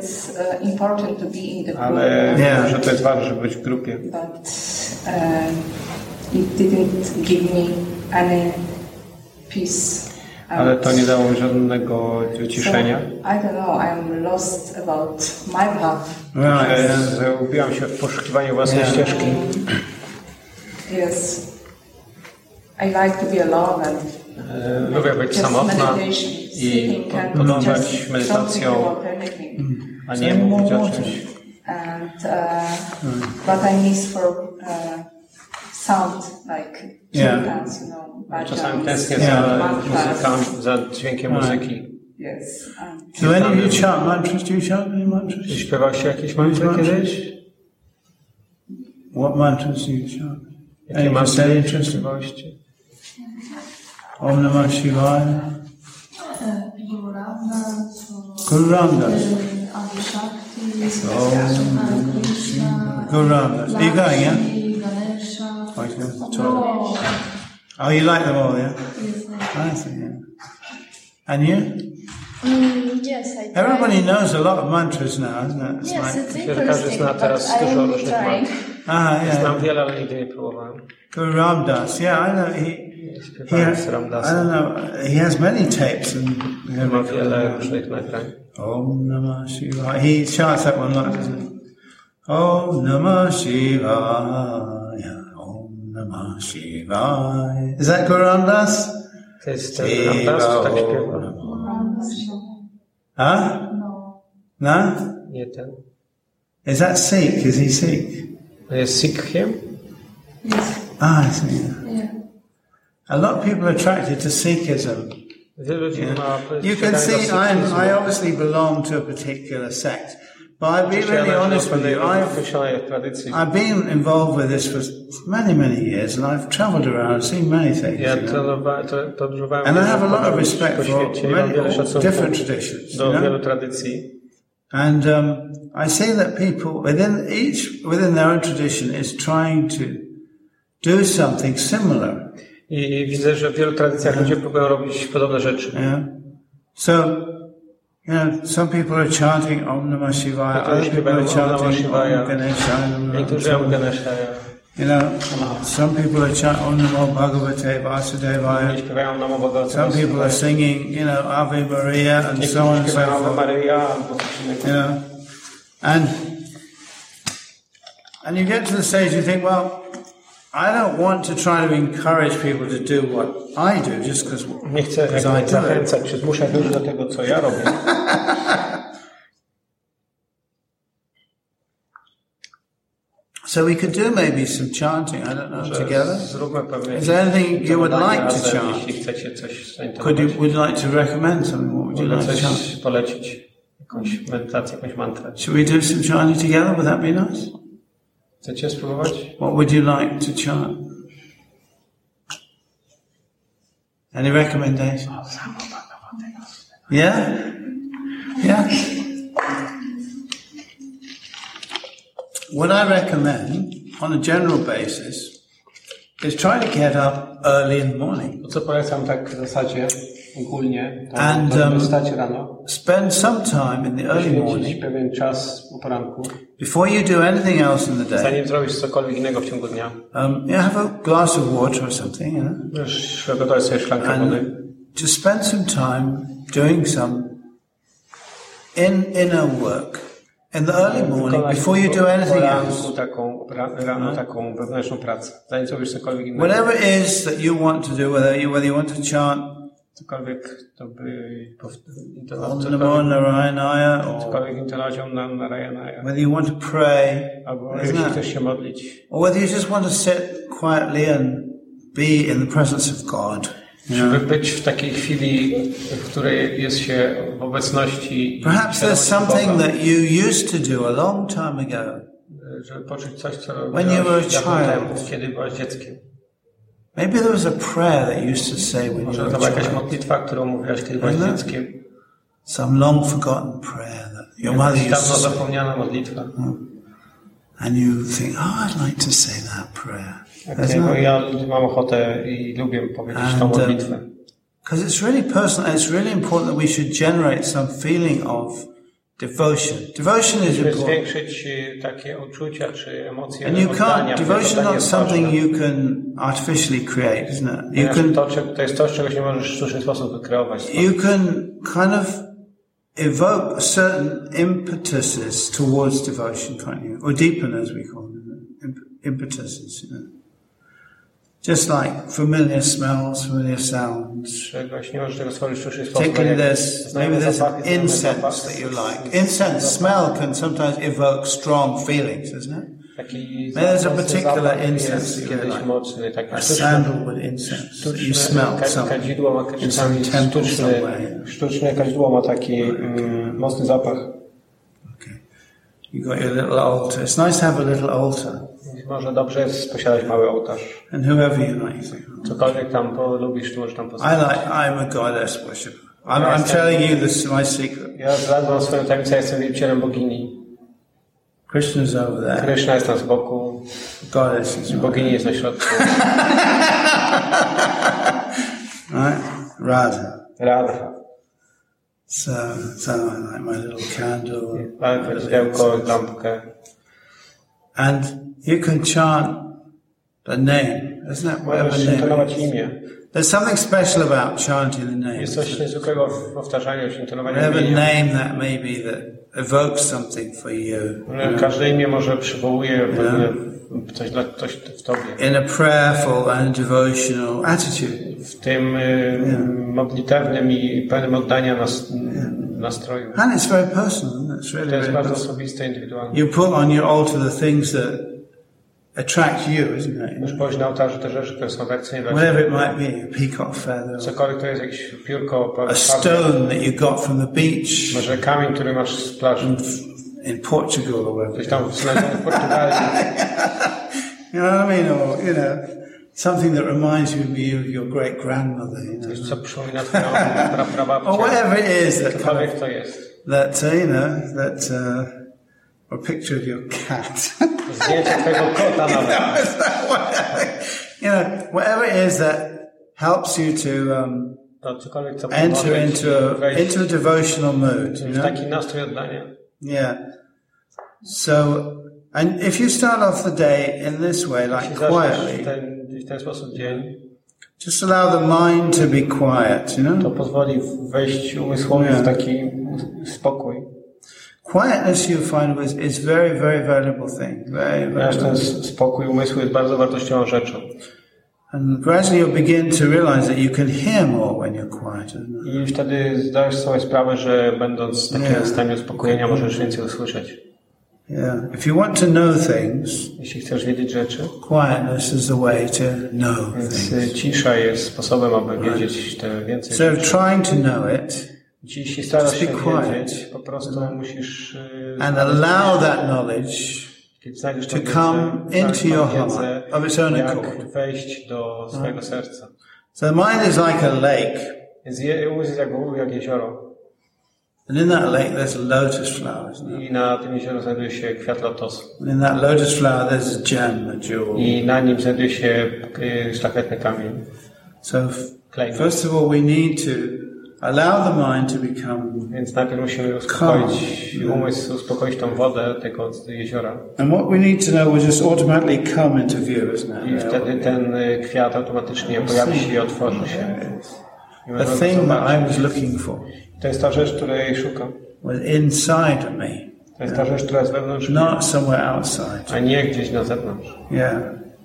Ale wiem, że to jest ważne, żeby być w grupie. Ale to nie dało mi żadnego wyciszenia. Zgubiłam się w poszukiwaniu własnej ścieżki. Yes. I like to be alone and lubię być samotna i podążać medytacją, a nie mówić o czymś. And, uh, but I miss for uh, sound, like kirtans, you know. Czasami tęsknię za muzyką, za dźwiękiem muzyki. Yes. And Do any of you chant mantras? Do you chant any mantras? Śpiewał się jakieś mantry kiedyś? What mantras do you chant? Jakie mantry śpiewaliście? Om Namah Shivaya. Guru Ramdas. Guru Ramdas. Are you going, yeah? Oh, you like them all, yeah? I see, yeah. And you? Mm, yes, I try. Everybody knows a lot of mantras now, isn't it? It's Yes, like, it's interesting, but I am trying. ah, yeah. Znam wiele, ale nigdy nie próbowałem. Guru Ramdas, yeah, I know. He, he has, I don't know. He has many tapes and ma wiele różnych nagrań. Om Namah Shivaya. He chants that one, like, doesn't he? Om Namah Shivaya. Om Namah Shivaya. Is that Guru Ramdas? To jest ten Ramdas, tak śpiewa? Huh? No? Nie ten. Is that Sikh? Is he Sikh? Jest Sikhiem? Ah, I see. Yeah. A lot of people are attracted to Sikhism. Yeah. You can see I'm, I obviously belong to a particular sect. But I'll be really honest with you, I've, I've been involved with this for many, many years, and I've travelled around and seen many things. You know? And I have a lot of respect for many different traditions. You know? And um, I see that people within each, within their own tradition, is trying to do something similar. I widzę, że w wielu tradycjach ludzie próbują robić podobne rzeczy. Yeah. So, you know, some people are chanting Om Namah Shivaya, other people are chanting Om Ganeshaya. Niektórzy Om Ganeshaya. You know, some people are chanting Om Namo Bhagavate Vasudevaya. Some people are singing, you know, Ave Maria and so on and so forth. You know, and and you get to the stage you think, well, I don't want to try to encourage people to do what I do just because nie chcę zachęcać czy zmuszać ludzi do tego, co ja robię. So we could do maybe some chanting, I don't know, Może together. Zróbmy pewnie. Is there anything you would like to chant? Jeśli chcecie coś Could you, would you like to recommend something? What would you Mogę like to chant? coś polecić. Jakąś medytację, jakąś mantrę. Should we do some chanting together? Would that be nice? Chcecie spróbować? What would you like to chant? Any recommendations? Yeah? Yeah? What I recommend, on a general basis, is try to get up early in the morning. To co polecam tak w zasadzie ogólnie, to, And, to um, wstać rano. Spend some time in the early Poświęcić morning pewien czas po poranku. before you do anything else in the day. Zanim zrobisz cokolwiek innego w ciągu dnia. Um, you have a glass of water or something, you know, Możesz przygotować sobie szklankę wody. and just spend some time doing some in inner work in the early morning Wykonać before you do anything poranku else. taką, ra- rano taką wewnętrzną pracę. Zanim zrobisz cokolwiek innego. Whatever it is that you want to do, whether you whether you want to chant Cokolwiek to by Om Namo Narayana, or cokolwiek intonacją na Narayanaya. whether you want to pray, Albo isn't jeśli it? chcesz się modlić. Or whether you just want to sit quietly and be in the presence of God. Żeby być w takiej chwili, w której jest się w obecności. Perhaps there's something that you used to do a long time ago, żeby poczuć coś, co when you were a robiłeś dawno temu, child. kiedy byłeś dzieckiem. Maybe there was a prayer that you used to say when you Może were to a była jakaś child. modlitwa, którą mówiłaś, kiedy byłeś Isn't it? dzieckiem. Some long forgotten prayer that your mother Jakaś used dawno to say. zapomniana modlitwa. And you think, oh, I'd like to say that prayer. Okay, bo ja mam ochotę i lubię powiedzieć tą And, um, modlitwę. Because it's really personal, and it's really important that we should generate some feeling of devotion. Devotion is Musimy important. zwiększyć y, takie uczucia czy emocje And you oddania. can't, devotion Oddanie not jest something ważne. you can artificially create, isn't it? You Ponieważ can, to, czy- to jest coś, czegoś nie możesz w sztuczny sposób wykreować. you can kind of evoke certain impetuses towards devotion, can't you? Or deepen, as we call them, imp- impetuses, you know. Just like familiar smells, familiar sounds. Czegoś nie możesz tego stworzyć w sztuczny sposób. Particularly Jak there's, znamy maybe there's zapachy, an znamy incense zapachy. that you like. Incense smell can sometimes evoke strong feelings, isn't it? Taki Maybe there's a mocny particular zapach incense jest that you kiedyś like. mocny, taki A sztuczny. sandalwood incense that you smell Ka- some, Kadzidło ma in some czasami temple sztuczny, somewhere. sztuczne kadzidło ma taki mm, mocny zapach. Okay. You got your little altar. It's nice to have a little altar. Może dobrze jest posiadać mały ołtarz. And whoever you like, you think, oh. Cokolwiek tam polubisz, to możesz tam I postawić. like, I'm a goddess worshipper. I'm, I'm telling you this is my secret. Ja zdradzam swoją tajemnicę, ja jestem wielbicielem bogini. Krishna's over there. Kryszna jest tam z boku, Goddess is over bogini jest na środku. right? Radha. Radha. So, so I like my little candle. Mamy my little światełko, incense. lampkę. And you can chant the name, isn't it? Whatever Możesz name. intonować it is. imię. There's something special about chanting the name. Jest coś niezwykłego w powtarzaniu się, intonowaniu Whatever imienia. name that may be that evokes something for you. you Każde imię może przywołuje pewne coś, dla, coś w tobie. in a prayerful and devotional attitude. W tym y, modlitewnym i pełnym oddania nas, nastroju. And it's very personal, isn't it? It's really, To jest really bardzo personal. osobiste, indywidualne. You put on your altar the things that attract you, isn't it? Możesz położyć na ołtarzu te rzeczy, które są atrakcyjne dla Whatever ciebie. it might be, a peacock feather, Cokolwiek to jest jakieś piórko, a stone that you got from the beach może kamień, który masz z plaży. in Portugal or wherever. Coś tam znalezione w Portugalii. You know what I mean? Or, you know, something that reminds you of your great grandmother, you Coś, know. co przypomina twoją pra, prababcię. Or whatever it is that kind Cokolwiek of, to jest. that, uh, you know, that, uh, or a picture of your cat. Zdjęcie twojego kota nawet. You know, whatever it is that helps you to um, To cokolwiek, co enter pomoże into ci a, wejść into a devotional mood, you w know? taki nastrój oddania. Yeah. So, and if you start off the day in this way, like Jeśli zaczniesz w quietly, ten, w ten sposób dzień, just allow the mind to be quiet, you to know? pozwoli wejść umysłowi w taki spokój. Quietness, you find, is, is very, very valuable thing. Very, Ponieważ very ten valuable. spokój umysłu jest bardzo wartościową rzeczą. And gradually you'll begin to realize that you can hear more when you're quiet, isn't it? I wtedy zdajesz sobie sprawę, że będąc w takim Yeah. stanie uspokojenia możesz więcej usłyszeć. Yeah. If you want to know things, jeśli chcesz wiedzieć rzeczy, quietness is the way to know więc things. cisza jest sposobem, aby wiedzieć te więcej So rzeczy. trying to know it, Jeśli starasz się just be quiet. wiedzieć, po prostu musisz and allow that knowledge to come into your heart of its own accord. jak wejść do swojego serca. So the mind is like a lake, Więc umysł jest jak, jak jezioro. and in that lake there's lotus flowers. I na tym jeziorze znajduje się kwiat lotosu. And in that lotus flower there's a gem, a jewel. I na nim znajduje się y, szlachetny kamień. So f- first of all we need to allow the mind to become. Więc najpierw musimy uspokoić umysł, uspokoić tą wodę tego jeziora. And what we need to know will just automatically come into view, isn't it? I wtedy ten kwiat automatycznie pojawi się i otworzy się. The thing that I was looking for To jest ta rzecz, której szukam. was inside of me, To jest ta rzecz, która jest wewnątrz mnie, not somewhere outside. a nie gdzieś na zewnątrz. Yeah.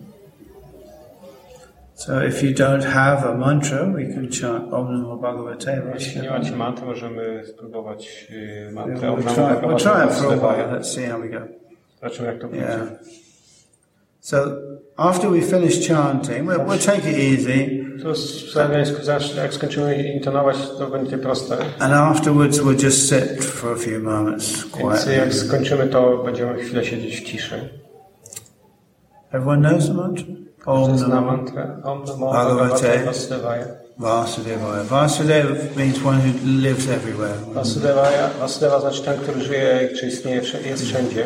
So if you don't have a mantra, we can chant Om Namo Bhagavate. Jeśli nie macie mantry, możemy spróbować y, mantrę. We'll try, we'll try it for a while. Let's see how we go. Zobaczymy, jak to będzie. Yeah. So after we finish chanting, we'll, we'll take it easy. To z- jak skończymy intonować, to będzie proste. And afterwards we'll just sit for a few moments Więc quietly. jak skończymy, to będziemy chwilę siedzieć w ciszy. Everyone knows the mantra? Om Zna Namo mantrę. Om Namo Bhagavate Bhagavate Vasudevaya. Vasudevaya. Vasudeva means one who lives everywhere. Vasudevaya. Vasudeva znaczy ten, który żyje, czy istnieje, jest wszędzie.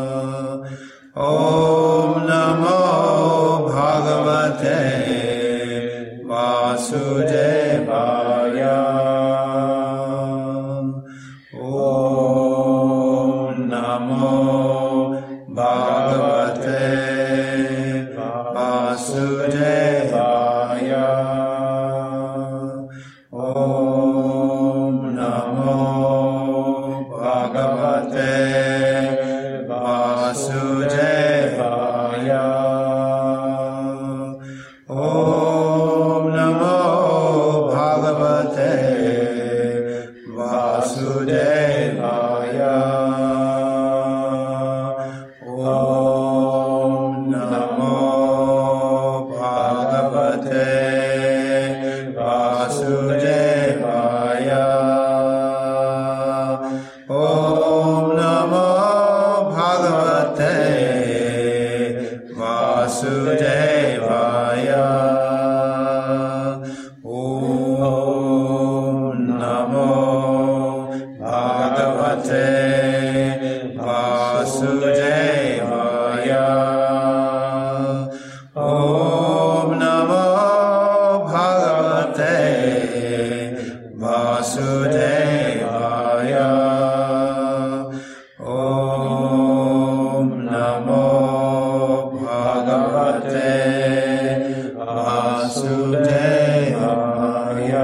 Om Namo Bhagavate Bhagavate Vasudevaya. Om Namo Bhagavate Vasudevaya. Om Namo Bhagavate Vasudevaya. Om Namo Bhagavate Vasudevaya. Om Namo Bhagavate Vasudevaya. Om Namo Bhagavate Vasudevaya. Om Namo Bhagavate Vasudevaya. Om Namo Bhagavate Vasudevaya.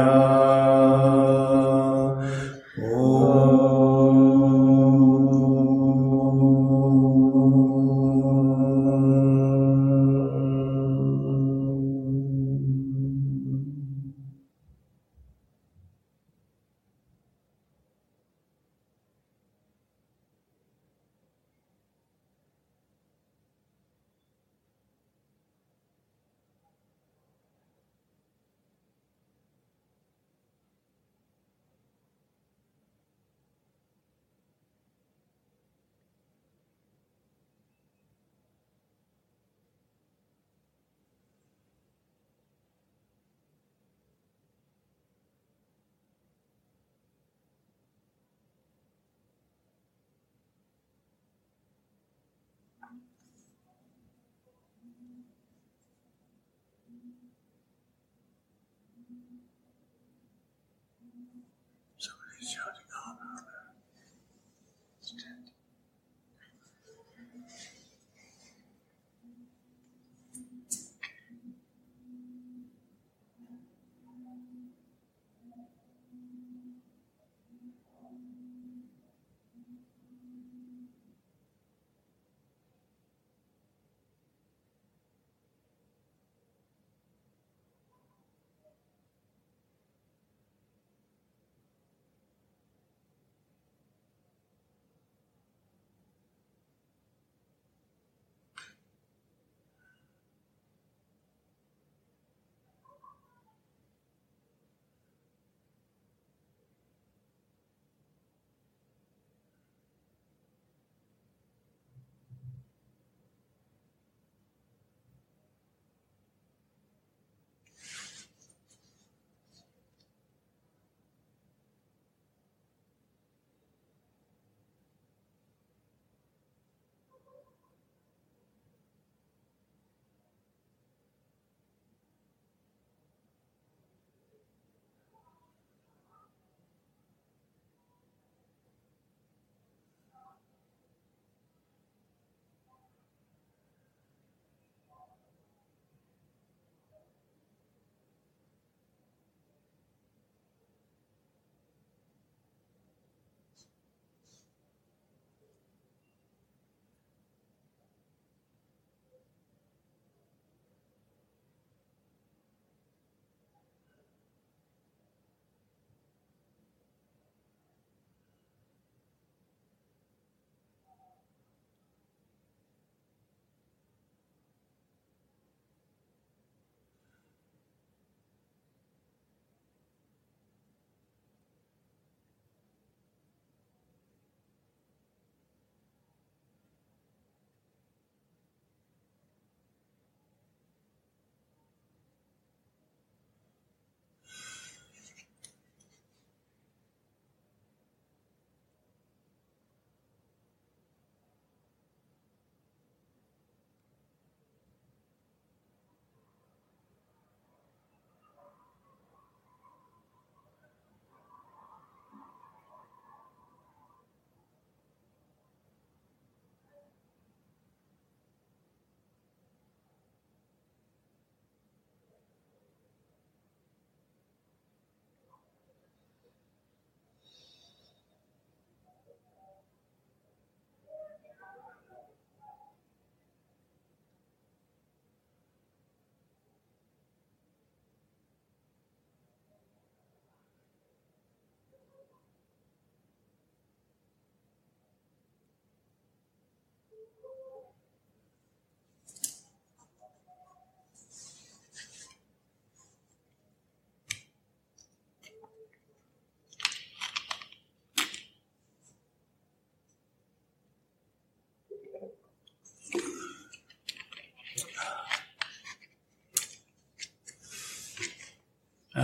Somebody's shouting on.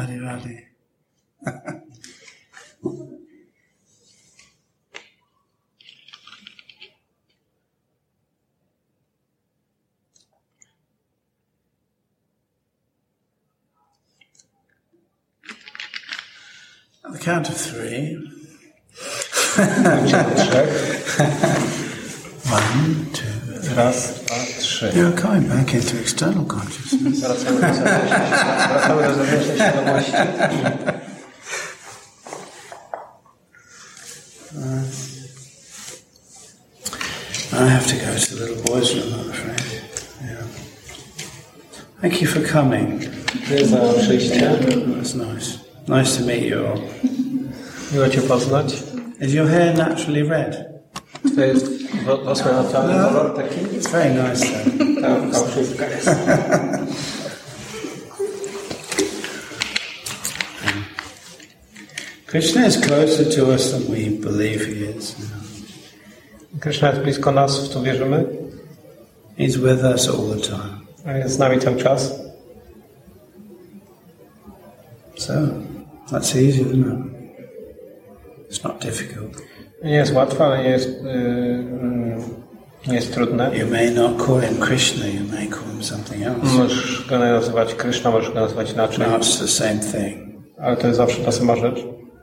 Radhe Radhe. At the count of three. One, two, three. Raz, dwa, trzy. You're coming back into external consciousness. Wracamy do zewnętrznej, wracamy do zewnętrznej świadomości. I have to go to the little boys' room, I'm afraid. Yeah. Thank you for coming. Dziękuję za przyjście. That's nice. Nice to meet you all. Miło Cię poznać. Is your hair naturally red? To jest włosy naturalny kolor taki? It's very nice though. Ta fałszywka jest. Krishna is closer to us than we believe he is. Krishna jest blisko nas, w to wierzymy. He's with us all the time. A jest z nami cały czas. So, that's easy, isn't it? It's not difficult. Nie jest łatwe, ale nie jest, yy, nie jest trudne. You may not call him Krishna, you may call him something else. Możesz go nazywać Krishna, możesz go nazywać inaczej. No, it's the same thing. Ale to jest zawsze ta sama rzecz.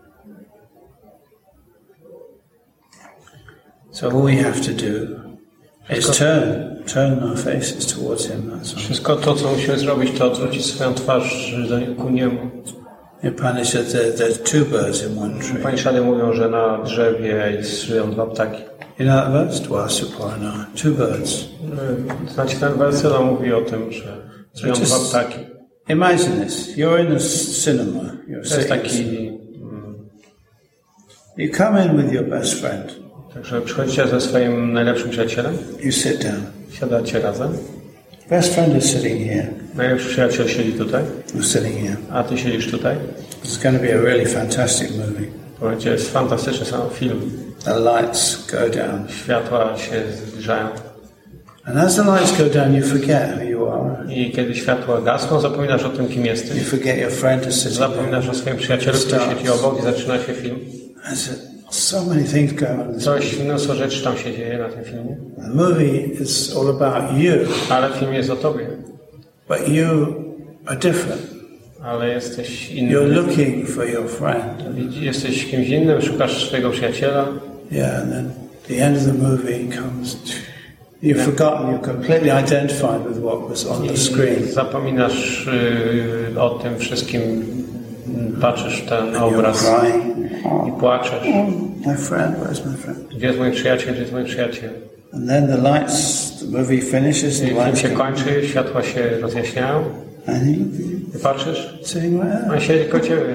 So all we have to do is turn, turn our faces towards him. That's all. Wszystko to, co musimy zrobić, to odwrócić swoją twarz ku niemu. In Upanishad, there, there's two birds in one tree. Upanishady mówią, że na drzewie żyją dwa ptaki. You know that verse? Dwasuparna. Two birds. Znaczy ten werset mówi o tym, że żyją dwa ptaki. Imagine this. You're in a cinema. You're To jest taki... mm, you come in with your best friend. Także przychodzicie ze swoim najlepszym przyjacielem. You sit down. Siadacie razem. Best friend is sitting here. Najlepszy przyjaciel siedzi tutaj. You're sitting here. A ty siedzisz tutaj. It's going to be a really fantastic movie. To będzie jest fantastyczny sam film. The lights go down. Światła się zbliżają. And as the lights go down, you forget who you are. I kiedy światła gasną, zapominasz o tym, kim jesteś. You forget your friend is sitting there. Zapominasz o swoim przyjacielu, który siedzi obok i zaczyna się film. So many things go on. Coś, mnóstwo rzeczy tam się dzieje na tym filmie. The movie is all about you. Ale film jest o tobie. But you are different. Ale jesteś inny. You're looking for your friend. Jesteś kimś innym, szukasz swojego przyjaciela. Yeah, and then the end of the movie comes. You've forgotten. You're completely identified with what was on the screen. I zapominasz y, o tym wszystkim. Patrzysz w ten obraz i płaczesz. My friend, where's my friend? Gdzie jest mój przyjaciel? Gdzie jest mój przyjaciel? And then the lights. The movie finishes. The Film lights się go- kończy, światła się rozjaśniają. And he, I patrzysz? sitting right there. On siedzi koło ciebie.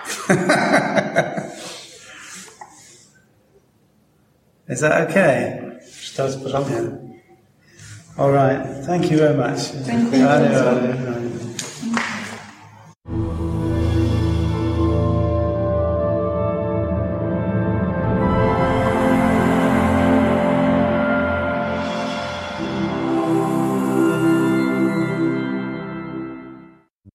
Is that okay? Czy to jest w porządku? All right. Thank you very much. Thank you. Radhe, radhe, radhe.